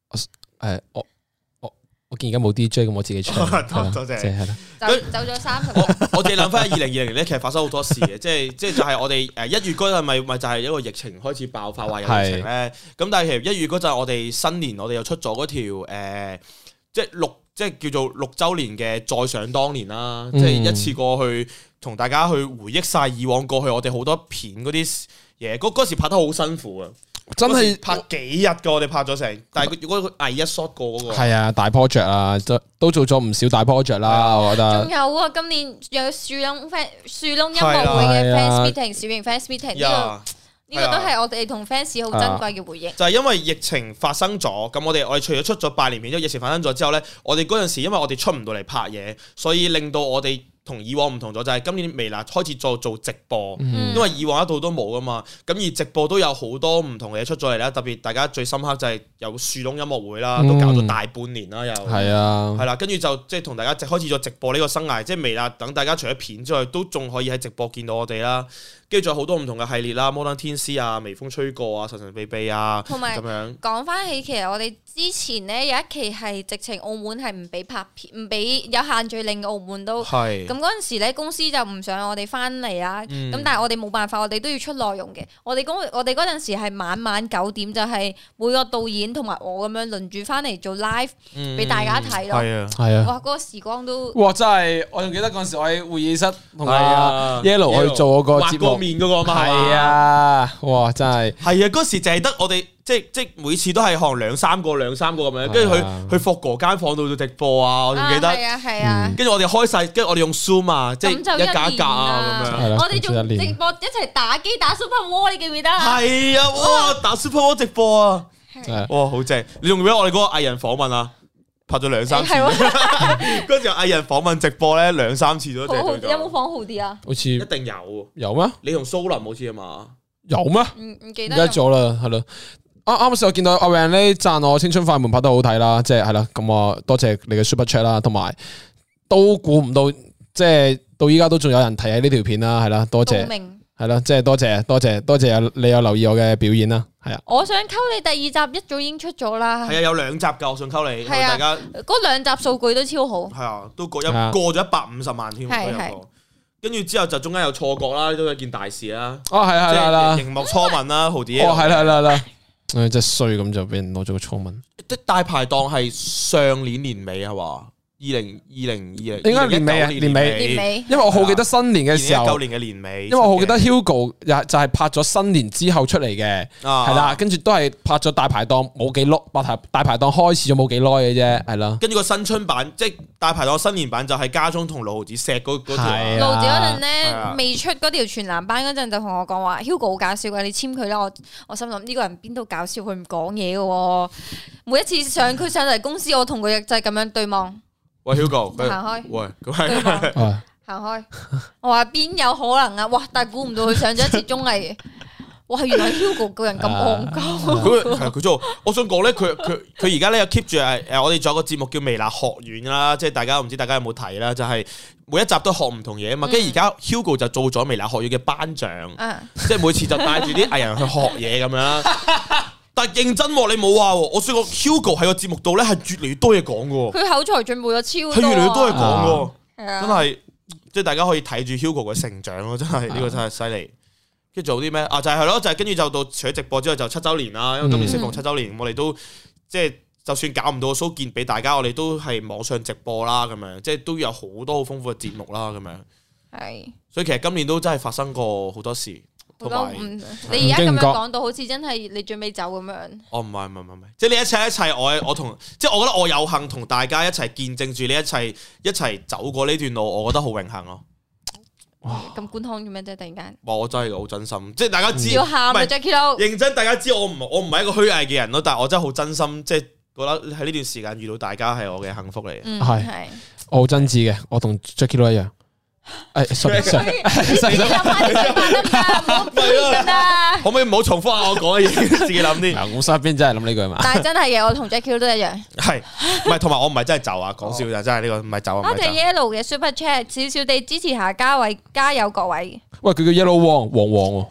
我見而家冇 DJ 咁，我自己唱。 多謝。係啦。 走咗30。 我哋諗翻2020年咧，其實發生好多事嘅，即係就係我哋1月嗰陣咪就係一個疫情開始爆發，話有疫情咧。咁但係其實1月嗰陣我哋新年我哋又出咗嗰條即係即係叫做6週年嘅再想當年啦，即係一次過去同大家去回憶晒以往過去我哋好多片嗰啲嘢，嗰時拍得好辛苦啊！真係拍幾日噶，我哋拍咗成，但係如果佢一 shot 過嗰個係啊大 project 啊，都做咗唔少大 project 啦，我覺得。 仲有啊，今年有樹窿音樂會嘅 fans meeting，小型 fans meeting 呢個都係我哋同 fans 好珍貴嘅回憶。 就係因為疫情發生咗，咁我哋除咗出咗拜年片，之後疫情發生咗之後咧，我哋嗰陣時因為我哋出唔到嚟拍嘢，所以令到我哋同以往唔同咗，就係今年微辣開始做直播，因為以往一度都冇噶嘛，咁而直播都有好多唔同嘅嘢出咗嚟啦。特別大家最深刻就係有樹窿音樂會啦，都搞咗大半年啦，又係啦，跟住就即係同大家開始咗直播呢個生涯，即係微辣等大家除咗片之外，都仲可以喺直播見到我哋啦。跟住仲有好多唔同嘅系列啦，摩登天師啊、微風吹過啊、神神秘秘啊， 同埋咁樣講翻起，其實我哋之前咧有一期係直情澳門係唔俾拍片，唔俾有限聚令嘅澳門都係。咁嗰陣時咧公司就唔想我哋翻嚟啦，咁但係我哋冇辦法，我哋都要出內容嘅。我哋嗰陣時係晚9點，就係每個導演同埋我咁樣輪住翻嚟做 live 俾大家睇咯。係啊，哇！嗰個時光都哇真係，我仲記得嗰陣時我喺會議室同阿 Yellow 去做嗰個節目。面嗰個嘛，係啊，哇，真係係啊！嗰時淨係得我哋，即每次都係可能兩三個咁樣，跟住去霍哥間房度做直播啊！我仲記得， 係啊， 跟住我哋開晒，跟住我哋用 Zoom 啊，即係一格一格啊咁樣。 我哋仲直播一齊打機打 Super War，你記唔記得？ 係啊，哇！打 Super War 直播啊，哇，好正！你仲記得我哋嗰個藝人訪問啊？拍咗2-3次，嗰時藝人訪問直播咧2-3次都有冇放好啲啊？ 好似一定有咩？ 你同蘇林好似啊嘛？ 有咩？ 唔記得咗啦，係咯。啱先我見到阿 Van 咧讚我《青春快門》拍得好睇啦，即係啦。咁我多謝你嘅 Super Chat 啦，同埋都估唔到，即係到依家都仲有人睇喺呢條片啦，係啦，多謝。係咯，即係多謝你有留意我嘅表演啦，係啊。 我想溝你第2集一早已經出咗啦。 係啊，有2集噶，我想溝你，大家嗰2集數據都超好。係啊，都過咗150萬添。係。跟住之後就中間有錯覺啦，都係一件大事啦。 哦，係啦， 熒幕初吻啦，豪迪。 哦，係啦，真係衰咁就俾人攞咗個初吻。 大排檔係上年年尾係嘛？2020 應該年尾，因為我好記得新年嘅時候 ，2019年嘅年尾， 因為我好記得 Hugo 就係拍咗新年之後出嚟嘅，係啦，跟住都係拍咗大排檔冇幾耐，大排檔開始咗冇幾耐嘅啫，係啦。 跟住個新春版，即係大排檔新年版就係家中同盧子錫嗰條。 盧子嗰陣咧未出嗰條全男班嗰陣就同我講話 Hugo 好搞笑嘅，你簽佢啦。我心諗呢個人邊度搞笑，佢唔講嘢嘅，每一次佢上嚟公司，我同佢就係咁樣對望。 喂 Hugo， 行開。 喂，咁行開。我話邊有可能啊？哇！但係估唔到佢上咗一次綜藝，哇！原來 Hugo 個人咁戇鳩。 佢做，我想講咧，佢而家咧又 keep 住我哋仲有個節目叫微辣學院啦，即係大家唔知大家有冇睇啦，就係每一集都學唔同嘢啊嘛。跟住而家 Hugo 就做咗微辣學院嘅班長，即係每次就帶住啲藝人去學嘢咁樣。但係認真，你冇話，我想講 Hugo 喺個節目度咧係越嚟越多嘢講嘅。佢口才進步咗超多， 係越嚟越多嘢講嘅，真係即係大家可以睇住 Hugo 嘅成長咯，真係呢個真係犀利。跟住做啲咩啊？就係咯，就係跟住就到除咗直播之後就7週年啦，因為今年適逢7週年，我哋都即係就算搞唔到 show 見俾大家，我哋都係網上直播啦，咁樣即係都有好多好豐富嘅節目啦，咁樣係。所以其實今年都真係發生過好多事。 你而家咁樣講到好似真係你最尾走咁樣。 哦，唔係，即係你一切，我同即係我覺得我有幸同大家一齊見證住呢一切，一齊走過呢段路，我覺得好榮幸咯。 哇！咁官腔做咩啫？突然間， 哇！我真係好真心，即係大家知要喊啊 Jacky Lou 認真，大家知我唔係一個虛偽嘅人咯，但係我真係好真心，即係覺得喺呢段時間遇到大家係我嘅幸福嚟嘅。 係，我好真摯嘅，我同 Jacky Lou 一樣。sorry，可唔可以唔好重複下我講嘅嘢，自己諗啲。 我身邊真係諗呢句嘛。 但係真係嘅，我同 Jacky 都一樣。 係，唔係同埋我唔係真係就啊，講笑就真係呢個唔係就啊。 多謝 Yellow 嘅 Super Chat， 少少地支持下加油各位。 喂，佢叫 Yellow 王喎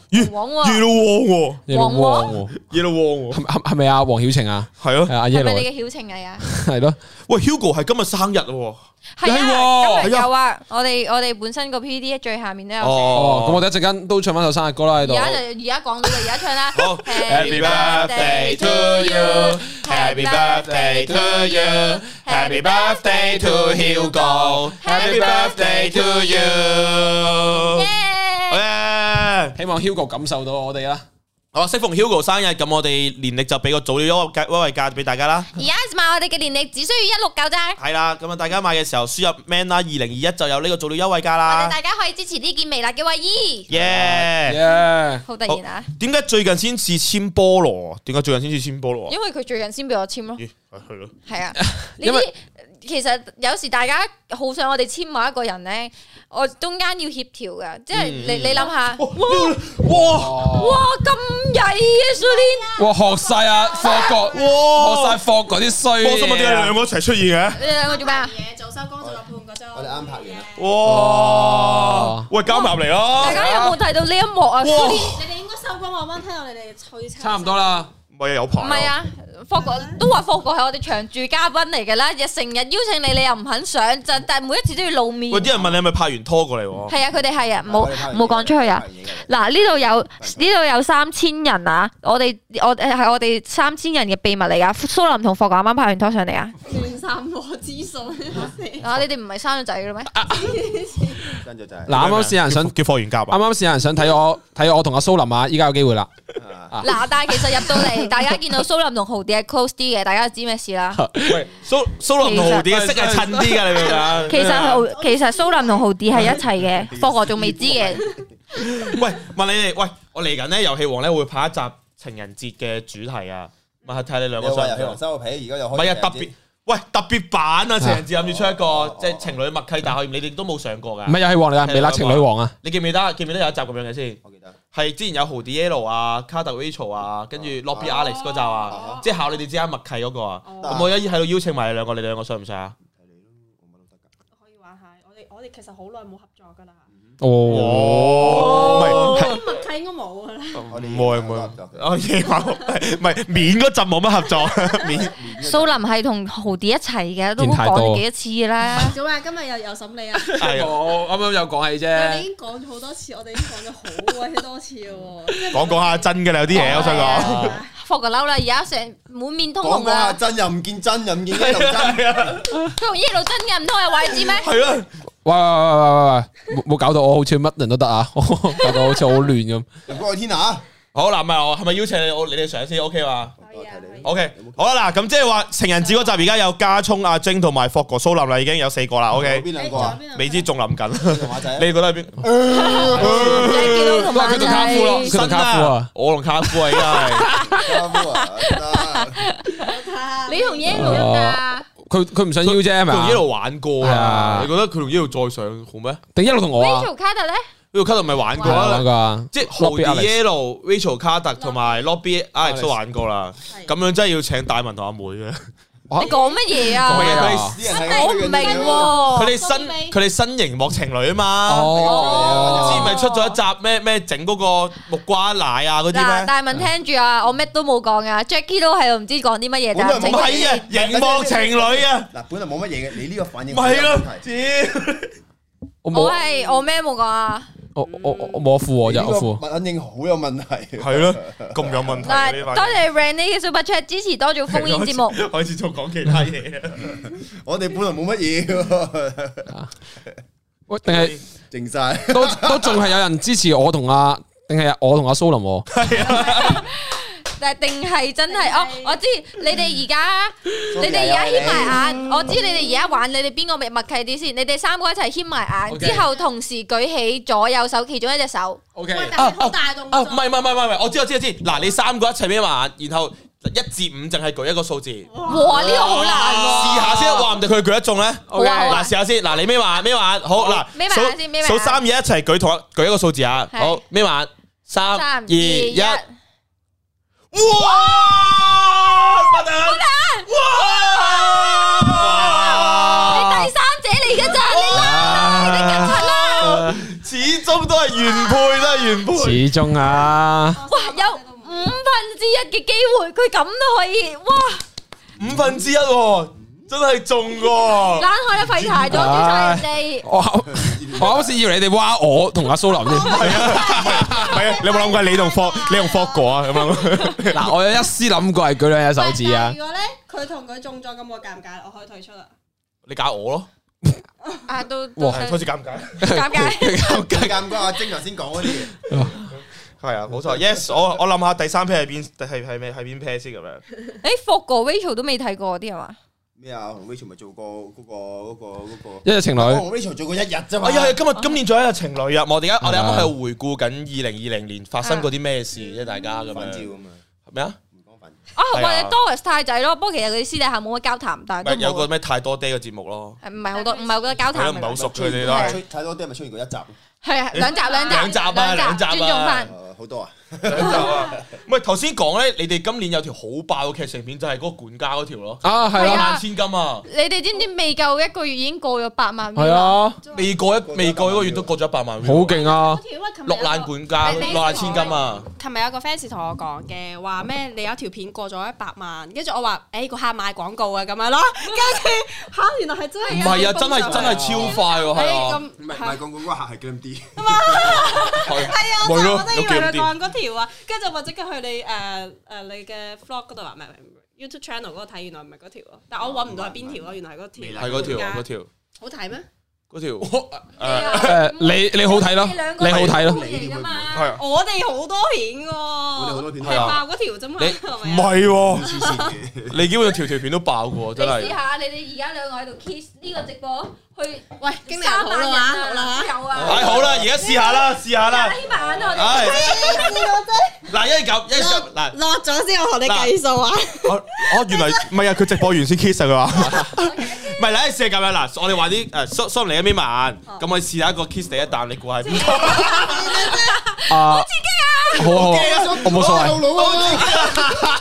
，Yellow 王，係咪阿黃曉晴啊？ 係咯， 係咪你嘅曉晴嚟啊？ 係咯。 喂 ，Hugo 係今日生日喎。 係啊，今日有啊，我哋本身個 PPT 最下面都有。 哦，咁我哋一陣間都唱翻首生日歌啦喺度。 而家講到就而家唱啦。 好 ，Happy birthday to you，Happy birthday to you。 Happy birthday to Hugo，Happy birthday to you。 希望 Hugo 感受到我哋啦。 好，適逢 Hugo 生日，咁我哋年曆就俾個早鳥優惠價俾大家啦。 而家買我哋嘅年曆只需要169咋。 係啦，咁啊大家買嘅時候輸入 man 啦2021就有呢個早鳥優惠價啦。 大家可以支持呢件微辣嘅衛衣。好突然啊！ 點解最近先至簽菠蘿？點解最近先至簽菠蘿？ 因為佢最近先俾我簽咯。 係咯。係啊， 因為其實有時大家好想我哋簽某一個人咧，我中間要協調噶，即係你諗下，哇咁曳嘅 Sulin， 哇學晒啊霍國，學晒霍國啲衰嘢。 我心諗點解兩個一齊出現嘅？ 你哋兩個做咩啊？ 做收工做咗半個鐘，我哋啱拍完。 哇！喂，交埋嚟咯！ 大家有冇睇到呢一幕啊？ 你哋應該收工，我啱聽到你哋吹車。 差唔多啦。 唔係有排。 唔係啊，霍國都話霍國係我哋長駐嘉賓嚟嘅啦，日成日邀請你，你又唔肯上，但係每一次都要露面。 喂，啲人問你係咪拍完拖過嚟？ 係啊，佢哋係啊，冇講出去啊。嗱，呢度有3000人啊，我哋3000人嘅秘密嚟噶。蘇林同霍國啱啱拍完拖上嚟啊。 亂散播資訊啊！你哋唔係生咗仔嘅咩？ 生咗仔。 嗱，啱啱試人想叫霍元甲。 啱啱試人想睇我同阿蘇林啊，依家有機會啦。 嗱，但係其實入到嚟，大家見到蘇林同豪迪係 close 啲嘅，大家就知咩事啦。 喂，蘇林同豪迪嘅色係襯啲㗎，你明唔明啊？ 其實蘇林同豪迪係一齊嘅，霍國仲未知嘅。 喂，問你哋，喂，我嚟緊咧，遊戲王咧會拍一集情人節嘅主題啊，問下睇你兩個想唔想？ 遊戲王收個皮，而家又開。 唔係啊，特別版啊！情人節諗住出一個即係情侶默契大考驗，你哋都冇上過㗎。 唔係遊戲王嚟㗎，微辣情侶王啊！ 你記唔記得有一集咁樣嘅先？ 我記得係之前有豪迪 Yellow 啊、卡特 Rachel 啊，跟住 Lobby Alex 嗰集啊，即係考你哋之間默契嗰個啊。咁我而家喺度邀請埋你兩個，你哋兩個想唔想啊？ 可以玩下，我哋其實好耐冇合作㗎啦。 哦， 默契應該冇㗎啦。 我夜晚唔係面嗰陣冇乜合作，面。 蘇林係同豪迪一齊嘅，都講咗幾多次啦。 做咩？今日又審你啊？ 我啱啱有講起啫。 你已經講咗好多次，我哋已經講咗好鬼多次喎。 講下真嘅啦，有啲嘢我想講。 霍國嬲啦，而家成滿面通紅講下啦。 真又唔見真，又唔見一路真。 佢同一路真嘅，唔通係話你知咩？ 係啊。 喂，冇搞到我好似乜人都得啊，搞到好似好亂咁。 唔該天啊！ 好嗱，係咪邀請你哋上先 OK 嘛？ 可以啊。 OK， 好啦嗱，咁即係話情人節嗰集而家有加聰、阿晶同埋霍國蘇林啦，已經有4個啦。OK， 邊兩個啊？ 未知仲諗緊， 馬仔， 你覺得係邊？ 你見到同馬佢同卡夫咯，佢同卡夫啊， 我同卡夫啊，而家係。 卡夫啊， 你同 Yellow 得㗎？ 佢唔想邀啫，係咪啊？ 佢同一路玩過啊，你覺得佢同一路再上好咩？ 定一路同我啊 Rachel 卡特咧？ Rachel 卡特咪玩過啦，即係豪迪 Yellow、Rachel 卡特同埋 Lobby Alex 都玩過啦。咁樣真係要請大文同阿妹嘅。 你講乜嘢啊？我唔明喎。 佢哋新熒幕情侶啊嘛。之前咪出咗一集咩整嗰個木瓜奶啊嗰啲咩？ 大文聽住啊，我咩都冇講啊 Jackie 都喺度唔知講啲乜嘢咋。 唔係啊，熒幕情侶啊。 嗱，本來冇乜嘢嘅，你呢個反應唔係咯， 我咩冇講啊？ 我冇副我就副。 反應好有問題。 係咯，咁有問題。 多謝 Randy 嘅 Super Chat 支持多做烽煙節目。 開始做講其他嘢啊！ 我哋本來冇乜嘢嘅。 喂，定係靜晒， 都仲係有人支持我同阿，定係我同阿蘇林？ 係啊。 但係定係真係我知你哋而家牽埋眼，我知你哋而家玩，你哋邊個咪默契啲先？你哋3個一齊牽埋眼，之後同時舉起左右手其中一隻手。 OK， 好大動作。 唔係，我知。嗱，你3個一齊眯埋眼，然後1至5淨係舉一個數字。 哇，呢個好難喎！ 試下先，話唔定佢舉得中咧。嗱，試下先。嗱，你眯埋眼，好嗱， 眯埋眼先，眯埋眼。 數3、2、1一齊舉一個數字啊！好，眯埋眼，3、2、1。哇！不得！哇！ 你第3者嚟嘅咋？你緊張啦！ 始終都係原配， 始終啊！ 哇，有1/5嘅機會，佢咁都可以，哇 ！1/5，真係中喎！ 冷開啦，廢柴咗，叫晒人哋。 我我啱先以為你哋挖我同阿蘇林添。 係啊，你有冇諗過你同霍哥啊？咁樣嗱，我有一絲諗過係舉兩隻手指啊。 如果咧佢同佢中咗，咁我尷唔尷？我可以退出啦。 你搞我咯， 啊都開始尷尬， 尷尬阿晶頭先講嗰啲嘢。 係啊，冇錯。Yes， 我諗下第三 pair 係邊邊 pair 先咁樣。 霍哥 Rachel 都未睇過啲係嘛？ 咩啊？同 Rachel 咪做過嗰個一日情侶。 我同 Rachel 做過一日啫嘛。 哎呀，今年仲有一日情侶啊！我哋啱啱喺度回顧緊2020年發生過啲咩事啫，大家咁樣。 照咁啊？ 咩啊？ 或者 Doris 太仔咯，不過其實佢哋私底下冇乜交談，但係有個咩太多爹嘅節目咯。 唔係好多，唔係好多交談。 唔係好熟佢哋都係。 太多爹咪出現過一集。 係啊，兩集，尊重翻。 好多啊！ 兩集啊！唔係頭先講咧，你哋今年有條好爆嘅劇情片，就係嗰個管家嗰條咯。 啊，係啊，萬千金啊！ 你哋知唔知未夠一個月已經過咗8萬？ 係啊， 未過一個月都過咗100萬。 好勁啊！ 落難管家，落難千金啊！ 琴日有個 fans 同我講嘅，話咩？你有條片過咗100萬，跟住我話誒個客賣廣告啊咁樣咯，跟住嚇原來係真係。 唔係啊，真係超快喎，係啊！ 唔係賣廣告嗰個客係 Glam D。 係啊，我都以為佢講嗰條啊，跟住就話即刻去你你嘅 vlog 嗰度話，唔係 YouTube channel 嗰個睇，原來唔係嗰條咯，但我揾唔到係邊條咯，原來係嗰條。 係嗰條， 好睇咩？ 嗰條你好睇咯，你好睇咯， 係啊！ 我哋好多片喎， 我哋好多片係爆嗰條啫嘛， 唔係喎，你基本上條片都爆過，真係。 試下你哋而家兩個喺度 kiss 呢個直播去，喂， 經理人好啦嘛，好啦， 有啊， 係好啦，而家試下啦，試下啦。 希望我哋嗱，一咁嗱落咗先，我同你計數啊。 原來唔係啊，佢直播完先 kiss 啊，佢話。唔係，你試下咁樣嗱，我哋話啲蘇嚟一邊慢，咁我試下一個 kiss 第一啖，你估係邊個？ 好刺激啊！好，我冇所謂。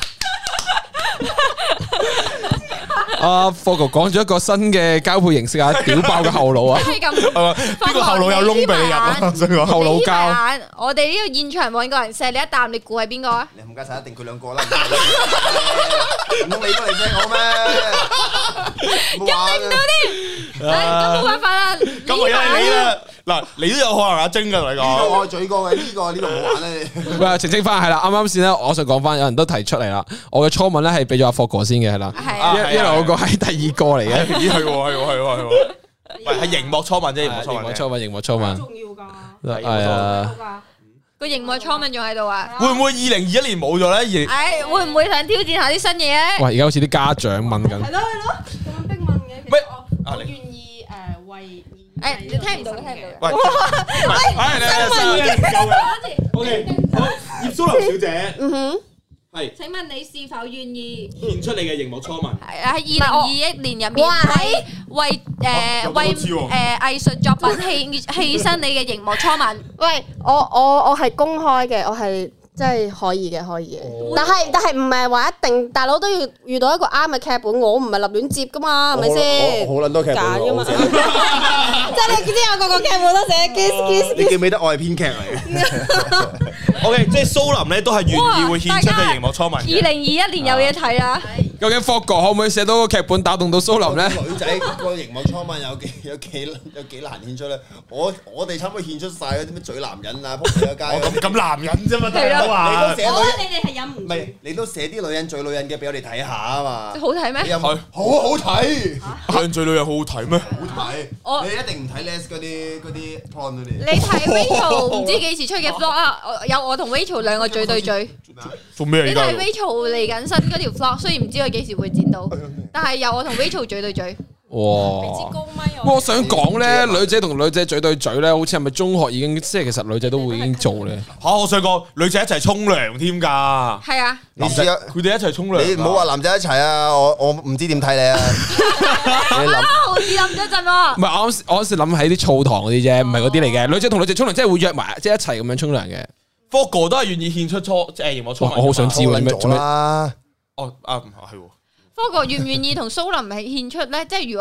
阿霍哥講咗一個新嘅交配形式啊，屌爆嘅後腦啊！ 係咁， 邊個後腦有窿俾你入啊？想講後腦膠。 我哋呢個現場揾個人錫你一啖，你估係邊個啊？ 你冚家鏟一定佢兩個啦，唔通你都嚟錫我咩？ 咁你唔到啲，咁冇辦法啦。 咁唯有係你啦。嗱，你都有可能阿晶㗎同你講。 我嘴過嘅呢個冇玩咧。 喂，澄清翻係啦，啱啱先咧，我想講翻，有人都提出嚟啦。我嘅初吻咧係俾咗阿霍哥先嘅係啦，一來我個係第二個嚟嘅， 咦係喎。喂，係熒幕初吻啫，熒幕初吻。 重要㗎。 係啊。 個熒幕初吻仲喺度啊？ 會唔會2021年冇咗咧？ 會唔會想挑戰下啲新嘢咧？ 喂，而家好似啲家長問緊。 係咯，咁樣逼問嘅。其實我願意為。 你聽唔到嘅。 喂，OK，好，葉蘇林小姐，係。請問你是否願意獻出你嘅熒幕初吻？ 係喺2021年入面，為藝術作品犧牲你嘅熒幕初吻。 喂，我係公開嘅，我係。真係可以嘅，但係唔係話一定，大佬都要遇到一個啱嘅劇本，我唔係立亂接噶嘛，係咪先？ 好撚多劇本㗎嘛， 即係你知有個劇本都寫 kiss。 你記唔記得我係編劇嚟嘅 ？OK，即係蘇林咧都係願意會獻出嘅熒幕初吻。 2021年有嘢睇啦。 究竟霍哥可唔可以寫到個劇本打動到蘇林咧？ 女仔個熒幕初吻有幾難獻出咧？我哋差唔多獻出晒嗰啲咩嘴男人啊，仆街咁男人啫嘛，大佬啊！ 我覺得你哋係忍唔住。 唔係，你都寫啲女人嘴女人嘅俾我哋睇下啊嘛。 好睇咩？ 好好睇。 女嘴女人好好睇咩？ 好睇。你一定唔睇 Les 嗰啲 porn 嗰啲。 你睇 Rachel 唔知幾時出嘅 vlog 啊？有我同 Rachel 兩個嘴對嘴。 做咩？ 你睇 Rachel 嚟緊新嗰條 vlog，雖然唔知佢幾時會剪到，但係有我同 Rachel 嘴對嘴。 哇！我想講咧，女仔同女仔嘴對嘴咧，好似係咪中學已經即係其實女仔都會已經做咧？ 我想講女仔一齊沖涼添㗎。 係啊， 男仔佢哋一齊沖涼。 你唔好話男仔一齊啊！我唔知點睇你啊！ 你諗好似諗咗陣喎。 唔係我嗰時諗喺啲澡堂嗰啲啫，唔係嗰啲嚟嘅。女仔同女仔沖涼，即係會約埋，即係一齊咁樣沖涼嘅。 霍哥都係願意獻出熒幕初吻。 我好想知喎，做咩？ 哦係喎。 霍哥願唔願意同蘇林係獻出咧？即係如果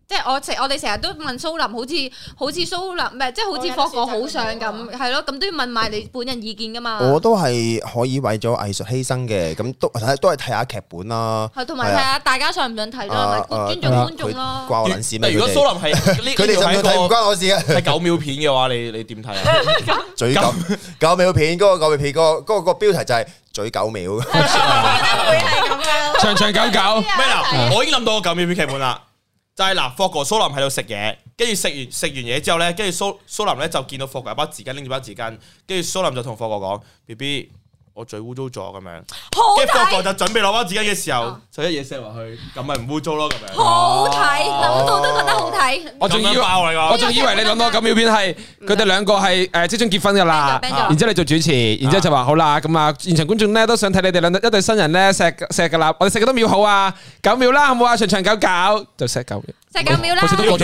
即係我哋成日都問蘇林，好似蘇林唔係，即係好似霍哥好想咁，係咯，咁都要問埋你本人意見噶嘛。 我都係可以為咗藝術犧牲嘅，咁都係睇下劇本啦。 係同埋睇下大家想唔想睇咯，尊重觀眾咯。 關我撚事咩？ 如果蘇林係佢哋想睇唔關我事啊。 係9秒片嘅話，你點睇啊？ 嘴9秒片嗰個9秒片嗰個標題就係嘴9秒。 會係咁樣， 長長久久。 咩嗱？我已經諗到個9秒片劇本啦。就係嗱，霍哥蘇林喺度食嘢，跟住食完嘢之後咧，跟住蘇林咧就見到霍哥有包紙巾，拎住包紙巾，跟住蘇林就同霍哥講 ：BB， 我嘴污糟咗咁樣。跟住霍哥就準備攞包紙巾嘅時候，就一嘢射落去，咁咪唔污糟咯咁樣。 好睇，諗到都覺得好睇。 我仲以為你諗到9秒片係佢哋兩個係即將結婚噶啦，然之後你做主持，然之後就話好啦，咁啊現場觀眾咧都想睇你哋一對新人咧錫噶啦，我哋錫幾多秒好啊？9秒啦，好唔好啊？長長久久就錫9秒。 錫9秒啦，好似都過咗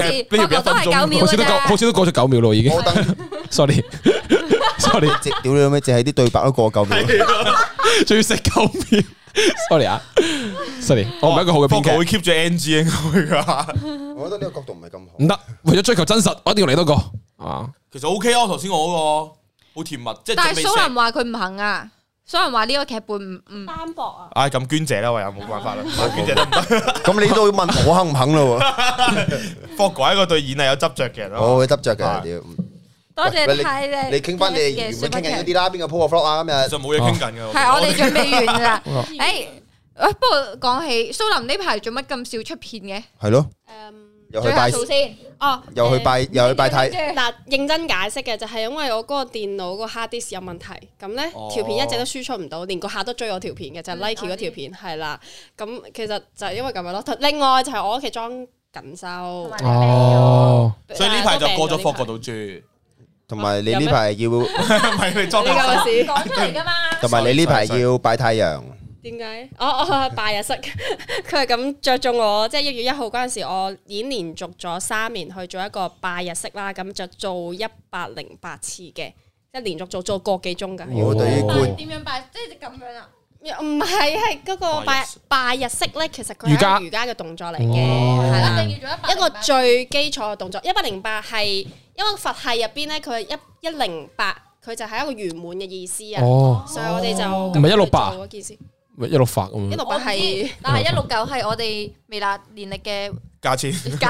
9秒， 好似都過咗9秒咯，已經。sorry， 屌你老味，淨係啲對白都過9秒， 仲要錫9秒。sorry 啊 ，sorry， 我唔係一個好嘅編劇。 霍哥會 keep 住 NG 應該噶。 我覺得呢個角度唔係咁好。 唔得，為咗追求真實，我一定要嚟多個。 其實 OK 啊，頭先我嗰個好甜蜜，即係。 但係蘇林話佢唔肯啊。所以人話呢個劇本唔單薄啊！ 唉，咁娟姐啦，我又冇辦法啦，娟姐得唔得？ 咁你都要問我肯唔肯咯？ 霍哥係一個對演藝有執着嘅人咯， 我會執着嘅，屌！ 多謝睇你傾翻你原本傾緊嗰啲啦，邊個 po 個 vlog 啊？今日就冇嘢傾緊嘅。 係我哋準備完㗎啦。誒，不過講起蘇林呢排做乜咁少出片嘅？ 係咯。又去拜先，哦， 又去拜太。 嗱，認真解釋嘅就係因為我嗰個電腦個 hard disk 有問題，咁咧條片一直都輸出唔到，連個客都追我條片嘅，就係 Nike 嗰條片係啦。咁其實就係因為咁樣咯。另外就係我屋企裝緊修， 哦， 所以呢排就過咗霍哥度住。 同埋你呢排要， 唔係你裝緊修講出嚟㗎嘛。 同埋你呢排要拜太陽。 點解？我拜日式，佢係咁着重我，即係1月1號嗰陣時，我已經連續咗3年去做一個拜日式啦，咁就做108次嘅，即係連續做個幾鐘㗎。 我對於點樣拜？即係咁樣啊？ 唔係，係嗰個拜日式咧，其實佢係瑜伽嘅動作嚟嘅，係啦，一個最基礎嘅動作。108係因為佛系入邊咧，佢係108，佢就係一個圓滿嘅意思啊。所以我哋就唔係168 嗰件事。 168咁 168係， 但係169係我哋微辣年曆嘅價錢。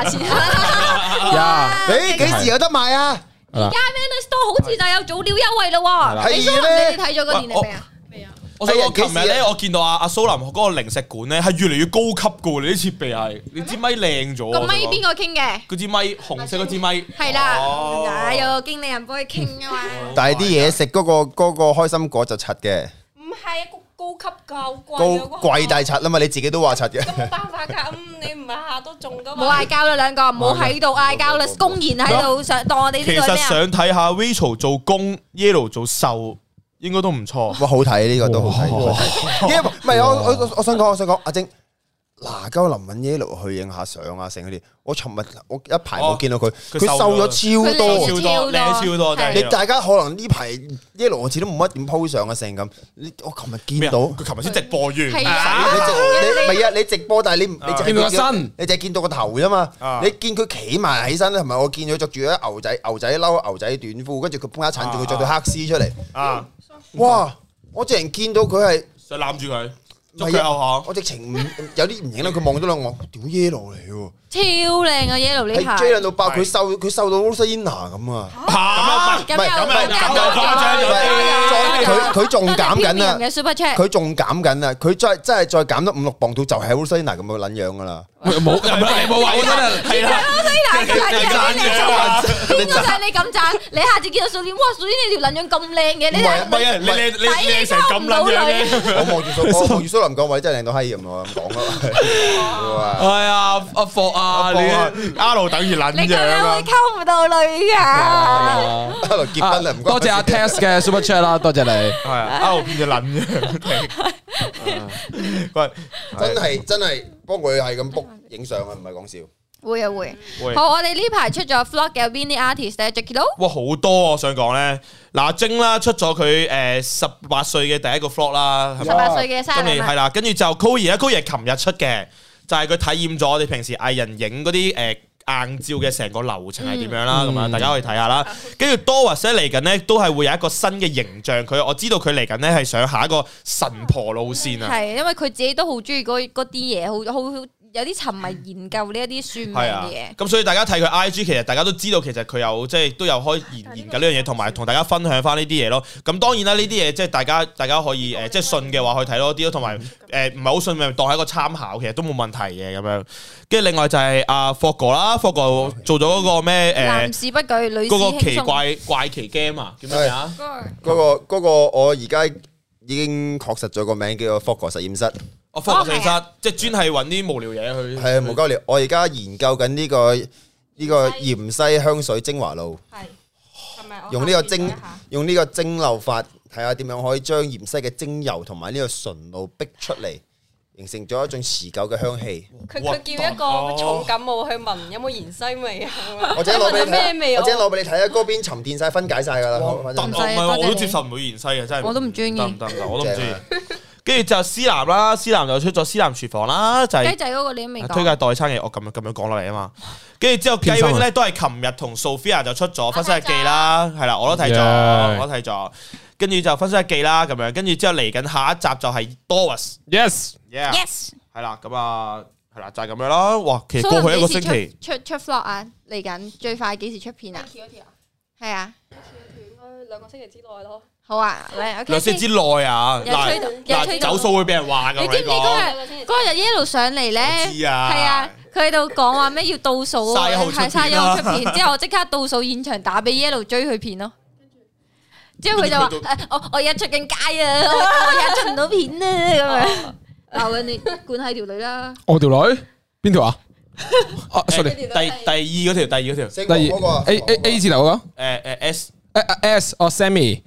誒，幾時有得賣啊？ 而家 Manner Store 好似就有早鳥優惠咯喎。你哋睇咗個年曆未啊？ 未啊。 我想講琴日咧，我見到阿蘇林嗰個零食館咧，係越嚟越高級噶喎！你啲設備係，你支咪靚咗。 個咪邊個傾嘅？ 嗰支咪紅色嗰支咪。 係啦，有個經理人幫佢傾啊嘛。 但係啲嘢食嗰個開心果就柒嘅。 唔係啊，高級夠貴。 貴大柒啊嘛，你自己都話柒嘅。 咁冇辦法㗎，你唔係下都中㗎嘛。 冇嗌交啦，兩個唔好喺度嗌交啦，公然喺度想當我哋呢個咩啊？ 其實想睇下 Rachel 做攻 ，Yellow 做受。應該都唔錯， 哇！好睇呢個都好睇，唔係我想講阿晶嗱，鳩林允 Yellow 去影下相啊，成嗰啲。我尋日我一排冇見到佢，佢瘦咗超多， 靚超多。 你大家可能呢排 Yellow 好似都冇乜點 po 相啊，成咁。我尋日見到佢尋日先直播完， 你唔係啊？你直播，但係你淨係見到個身，你淨係見到個頭啫嘛。你見佢企埋起身咧，同埋我見佢着住啲牛仔褸、牛仔短褲，跟住佢幫一襯住佢着對黑絲出嚟。哇！我直情見到佢係想攬住佢，捉佢後下。 我直情有啲唔認得佢，望咗兩我，屌 Yellow 嚟喎， 超靚啊 Yellow 呢排， 係 J 到爆，佢瘦到 Rosalina 咁啊！佢仲減緊啊！佢仲減緊啊！佢真係再減咗5-6磅到，就係 Rosalina 咁嘅撚樣噶啦！ 冇你冇話真係係啦。 邊個就係你咁讚？你下次見到素蓮，哇！素蓮你條撚樣咁靚嘅，你你成咁撚樣嘅。 我望住蘇林講位真係靚到閪咁，我咁講咯。 係啊，阿霍啊，你 R 等於撚樣啊！ 你咁樣會溝唔到女噶。 結婚啦，唔該。 多謝阿 Test 嘅 Super Chat 啦，多謝你。係啊 ，R 變咗撚樣。 喂，真係幫佢係咁 book 影相啊，唔係講笑。 會啊會。好，我哋呢排出咗 vlog 嘅邊啲 artist 咧 Jacky Lou？ 哇，好多我想講咧，嗱晶啦出咗佢18歲嘅第一個 vlog 啦 ，18歲嘅生日係啦，跟住就 Koey 咧，Koey 係琴日出嘅，就係佢體驗咗我哋平時藝人影嗰啲硬照嘅成個流程係點樣啦，咁啊大家可以睇下啦。跟住 Doris 咧嚟緊咧都係會有一個新嘅形象，我知道佢嚟緊咧係想下一個神婆路線啊。 係因為佢自己都好中意嗰啲嘢，好有啲沉迷研究呢一啲算命嘅嘢。 咁所以大家睇佢 IG， 其實大家都知道其實佢有即係都有開研究呢樣嘢，同埋同大家分享翻呢啲嘢咯。咁當然啦，呢啲嘢即係大家可以即係信嘅話去睇多啲咯，同埋唔係好信咪當係一個參考，其實都冇問題嘅咁樣。跟住另外就係阿霍哥啦，霍哥做咗嗰個咩男士不舉，女士輕鬆嗰個奇怪奇 game 啊，叫咩啊？ 嗰個我而家已經確實咗個名叫做霍哥實驗室。 科學實驗室即係專係揾啲無聊嘢去。係無鳩聊。我而家研究緊呢個芫茜香水精華露。係咪？用呢個蒸餾法，睇下點樣可以將芫茜嘅精油同埋呢個純露逼出嚟，形成咗一種持久嘅香氣。 佢叫一個重感冒去聞有冇芫茜味啊？ 我陣攞俾你睇，攞俾你睇啊！嗰邊沉澱晒分解晒㗎啦。 唔係我都接受唔到芫茜嘅，真係。 我都唔中意。 得，我都唔中意。跟住就思南啦，思南就出咗思南廚房啦，就係雞仔嗰個你都未講。 推介代餐嘅，我咁樣講落嚟啊嘛。跟住之後雞 wing 咧都係琴日同 Sophia 就出咗分析日記啦，係啦，我都睇咗，跟住就分析日記啦咁樣，跟住之後嚟緊下一集就係 Doris，yes，係啦，咁啊係啦，就係咁樣啦。哇，其實過去一個星期出 vlog 啊，嚟緊最快幾時出片啊？係啊， 應該2個星期之內咯。 好啊 ，2個星期之內啊，嗱走數會俾人話㗎。 你知唔知嗰日一路上嚟咧？ 知啊， 係啊，佢喺度講話咩要倒數，係3號出片，之後我即刻倒數現場打俾 Yellow 追佢片咯。之後佢就話：我而家出緊街啊，我而家出唔到片啊，咁樣鬧緊你管係條女啦。 我條女邊條啊？sorry， 第二嗰條， 第二 A 字頭嗰個，S Sammy。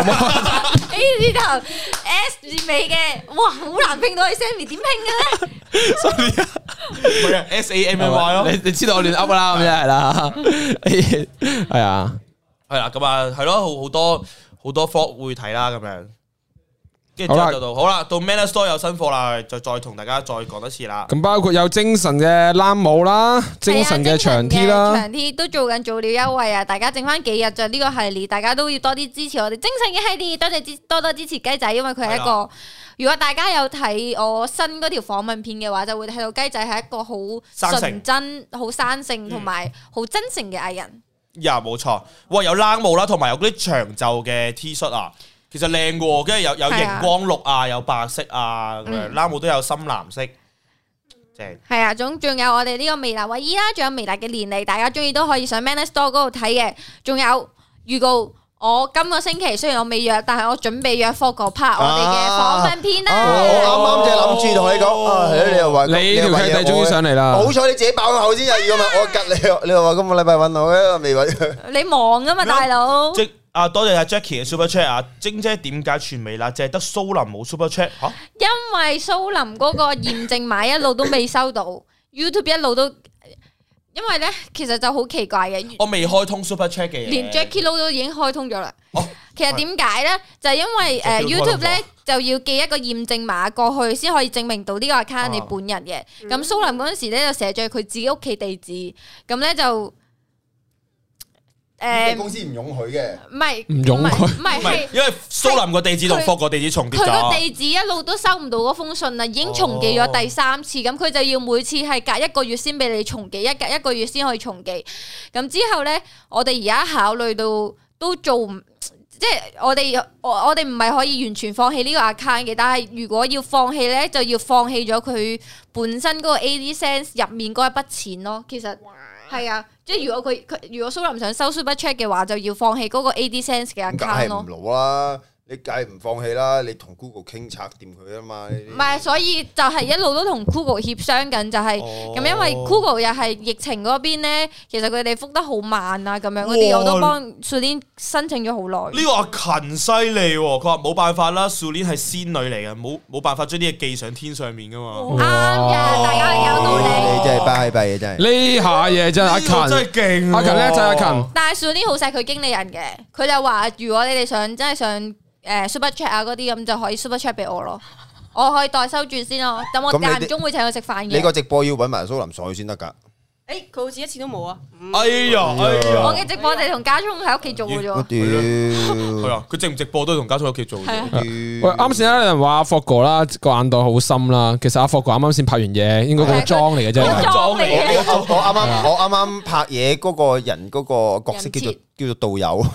A 字頭 S 字尾嘅，哇，好難拼到係 Sammy，點拼嘅咧 ？Sorry 啊，唔係啊 SAMMY 咯， 你知道我亂噏啦，咁樣係啦，係啊， 係啦，咁啊，係咯，好多科會睇啦，咁樣。跟住就好啦，到 Manner Store 有新貨啦，就再同大家再講一次啦。 咁包括有精神嘅冷帽啦，精神嘅長 T 啦， 長 T 都做緊早鳥優惠啊！大家剩翻幾日就呢個系列，大家都要多啲支持我哋精神嘅系列，多支持雞仔，因為佢係一個。如果大家有睇我新嗰條訪問片嘅話，就會睇到雞仔係一個好純真、好生性同埋好真誠嘅藝人。 冇錯，哇！有冷帽啦，同埋有嗰啲長袖嘅 T 恤啊。其實靚嘅，跟住有熒光綠啊，有白色啊，冷帽都有深藍色，正。係啊，仲有我哋呢個微辣衛衣啦，仲有微辣嘅年曆，大家中意都可以上 Manner Store 嗰度睇嘅。仲有預告，我今個星期雖然我未約，但係我準備約霍哥拍我哋嘅訪問片啦。 我啱啱就諗住同你講，你又話你條契弟終於上嚟啦。 好彩你自己爆口先啊！如果唔係我吉你又話今個禮拜揾我嘅未揾。 你忙啊嘛，大佬。 多謝阿 Jackie 嘅 Super Chat 啊！晶姐點解全微辣淨係得蘇林冇 Super Chat 嚇？ 因為蘇林嗰個驗證碼一路都未收到，YouTube 一路都，因為咧其實就好奇怪嘅。 我未開通 Super Chat 嘅嘢， 連 Jackie Lou 都已經開通咗啦。其實點解咧？就係因為YouTube 咧就要寄一個驗證碼過去，先可以證明到呢個 account 你本人嘅。咁蘇林嗰陣時咧就寫咗佢自己屋企地址，咁咧就。 公司唔容許嘅， 唔係因為蘇林個地址同霍個地址重疊咗， 佢個地址一路都收唔到嗰封信啦，已經重寄咗第3次，咁佢就要每次係隔1個月先俾你重寄，隔1個月先可以重寄。咁之後咧，我哋而家考慮到都做唔，即係我哋唔係可以完全放棄呢個 account 嘅，但係如果要放棄咧，就要放棄咗佢本身嗰個 AdSense 入面嗰一筆錢咯。其實係啊。即係如果蘇林想收 Super Chat 嘅話，就要放棄嗰個 AdSense 嘅 account 咯。 梗係唔攞啦，你梗係唔放棄啦，你同 Google 傾拆掂佢啊嘛。 唔係，所以就係一路都同 Google 協商緊，就係咁，因為 Google 又係疫情嗰邊咧，其實佢哋覆得好慢啊，咁樣嗰啲我都幫 Sulin 申請咗好耐。 呢個阿勤犀利喎，佢話冇辦法啦，Sulin 係仙女嚟嘅，冇辦法將啲嘢寄上天上面噶嘛。 啱嘅，大家有道理。 你真係巴閉嘅真係。 呢下嘢真係阿勤真係勁， 阿勤咧就係阿勤。 但係 Sulin 好錫佢經理人嘅，佢就話如果你哋真係想。Super Chat 啊嗰啲咁就可以 Super Chat 俾我咯，我可以代收住先咯。咁我間唔中會請佢食飯嘅。 你個直播要揾埋蘇林上去先得㗎。 佢好似一次都冇啊！ 哎呀， 我嘅直播就係同家聰喺屋企做嘅啫。 係啊，佢直唔直播都係同家聰喺屋企做嘅。 喂，啱先有人話阿霍哥啦個眼袋好深啦，其實阿霍哥啱啱先拍完嘢，應該個妝嚟嘅啫。 妝嚟嘅。 我啱啱拍嘢嗰個人嗰個角色叫做導遊。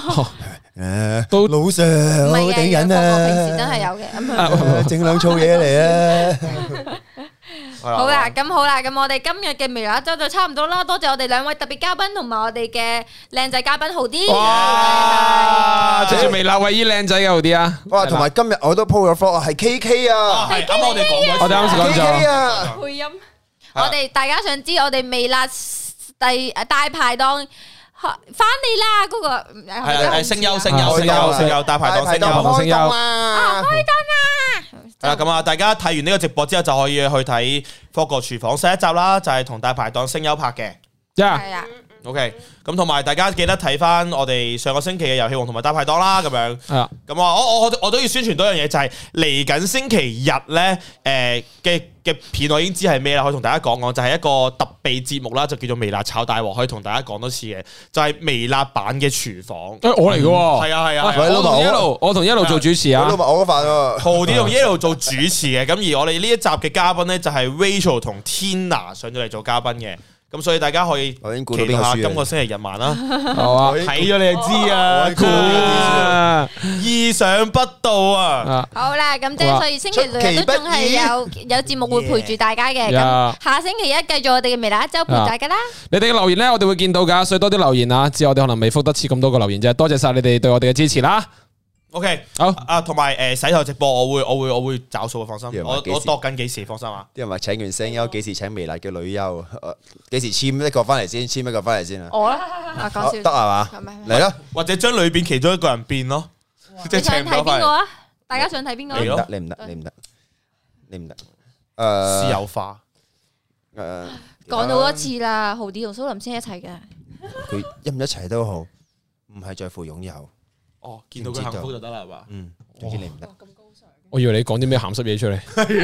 老上好頂癮啊！ 平時真係有嘅， 整兩粗嘢嚟啊！ 好啦，咁我哋今日嘅微辣一周就差唔多啦，多謝我哋兩位特別嘉賓同埋我哋嘅靚仔嘉賓豪啲。 哇！謝謝微辣唯一靚仔嘅豪啲啊！ 哇，同埋今日我都 po 咗 vlog 係 KK 啊， 係啱我哋講過， 我哋啱先講咗 KK 啊， 配音。 我哋大家想知我哋微辣大排檔翻嚟啦，嗰個係聲優大排檔聲優開檔啦！ 係啦，咁啊，大家睇完呢個直播之後就可以去睇科國廚房新一集啦，就係同大排檔聲優拍嘅。 係啊。 OK，咁同埋大家記得睇翻我哋上個星期嘅遊戲王同埋大排檔啦，咁樣。 係啊。 咁啊，我都要宣傳多樣嘢，就係嚟緊星期日咧，嘅片我已經知係咩啦，可以同大家講講，就係一個特備節目啦，就叫做微辣炒大鑊，可以同大家講多次嘅，就係微辣版嘅廚房。 我嚟嘅喎。 係啊。 我同一路做主持啊。 我嗰份喎。 豪啲同一路做主持嘅，咁而我哋呢一集嘅嘉賓咧就係 Rachel 同 Tina 上咗嚟做嘉賓嘅。咁所以大家可以期待下今個星期日晚啦，係嘛？睇咗你就知啊，意想不到啊！ 好啦，咁即係所以星期六日都仲係有節目會陪住大家嘅。咁下星期一繼續我哋嘅微辣一周陪大家啦。 你哋嘅留言咧，我哋會見到噶，所以多啲留言啊！只係我哋可能未覆得切咁多個留言啫，多謝晒你哋對我哋嘅支持啦。 OK， 好啊，同埋洗頭直播，我會找數，放心。我度緊幾時，放心啊。 啲人話請完聲優，幾時請微辣嘅女優？幾時簽一個翻嚟先？簽一個翻嚟先啊！ 我啦，講笑得係嘛？嚟啦！ 或者將裏邊其中一個人變咯，即係請睇邊個啊？大家想睇邊個？ 你唔得。 私有化。 講到多次啦，豪啲同蘇林先一齊嘅。 佢一唔一齊都好，唔係在乎擁有。 哦，見到佢幸福就得啦，係嘛？ 總之你唔得。 我以為你講啲咩鹹濕嘢出嚟。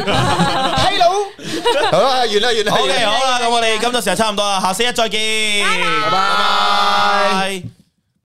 Hello，好啦，完啦。 OK，好啦，咁我哋今集時間差唔多啦，下星期一再見，拜拜。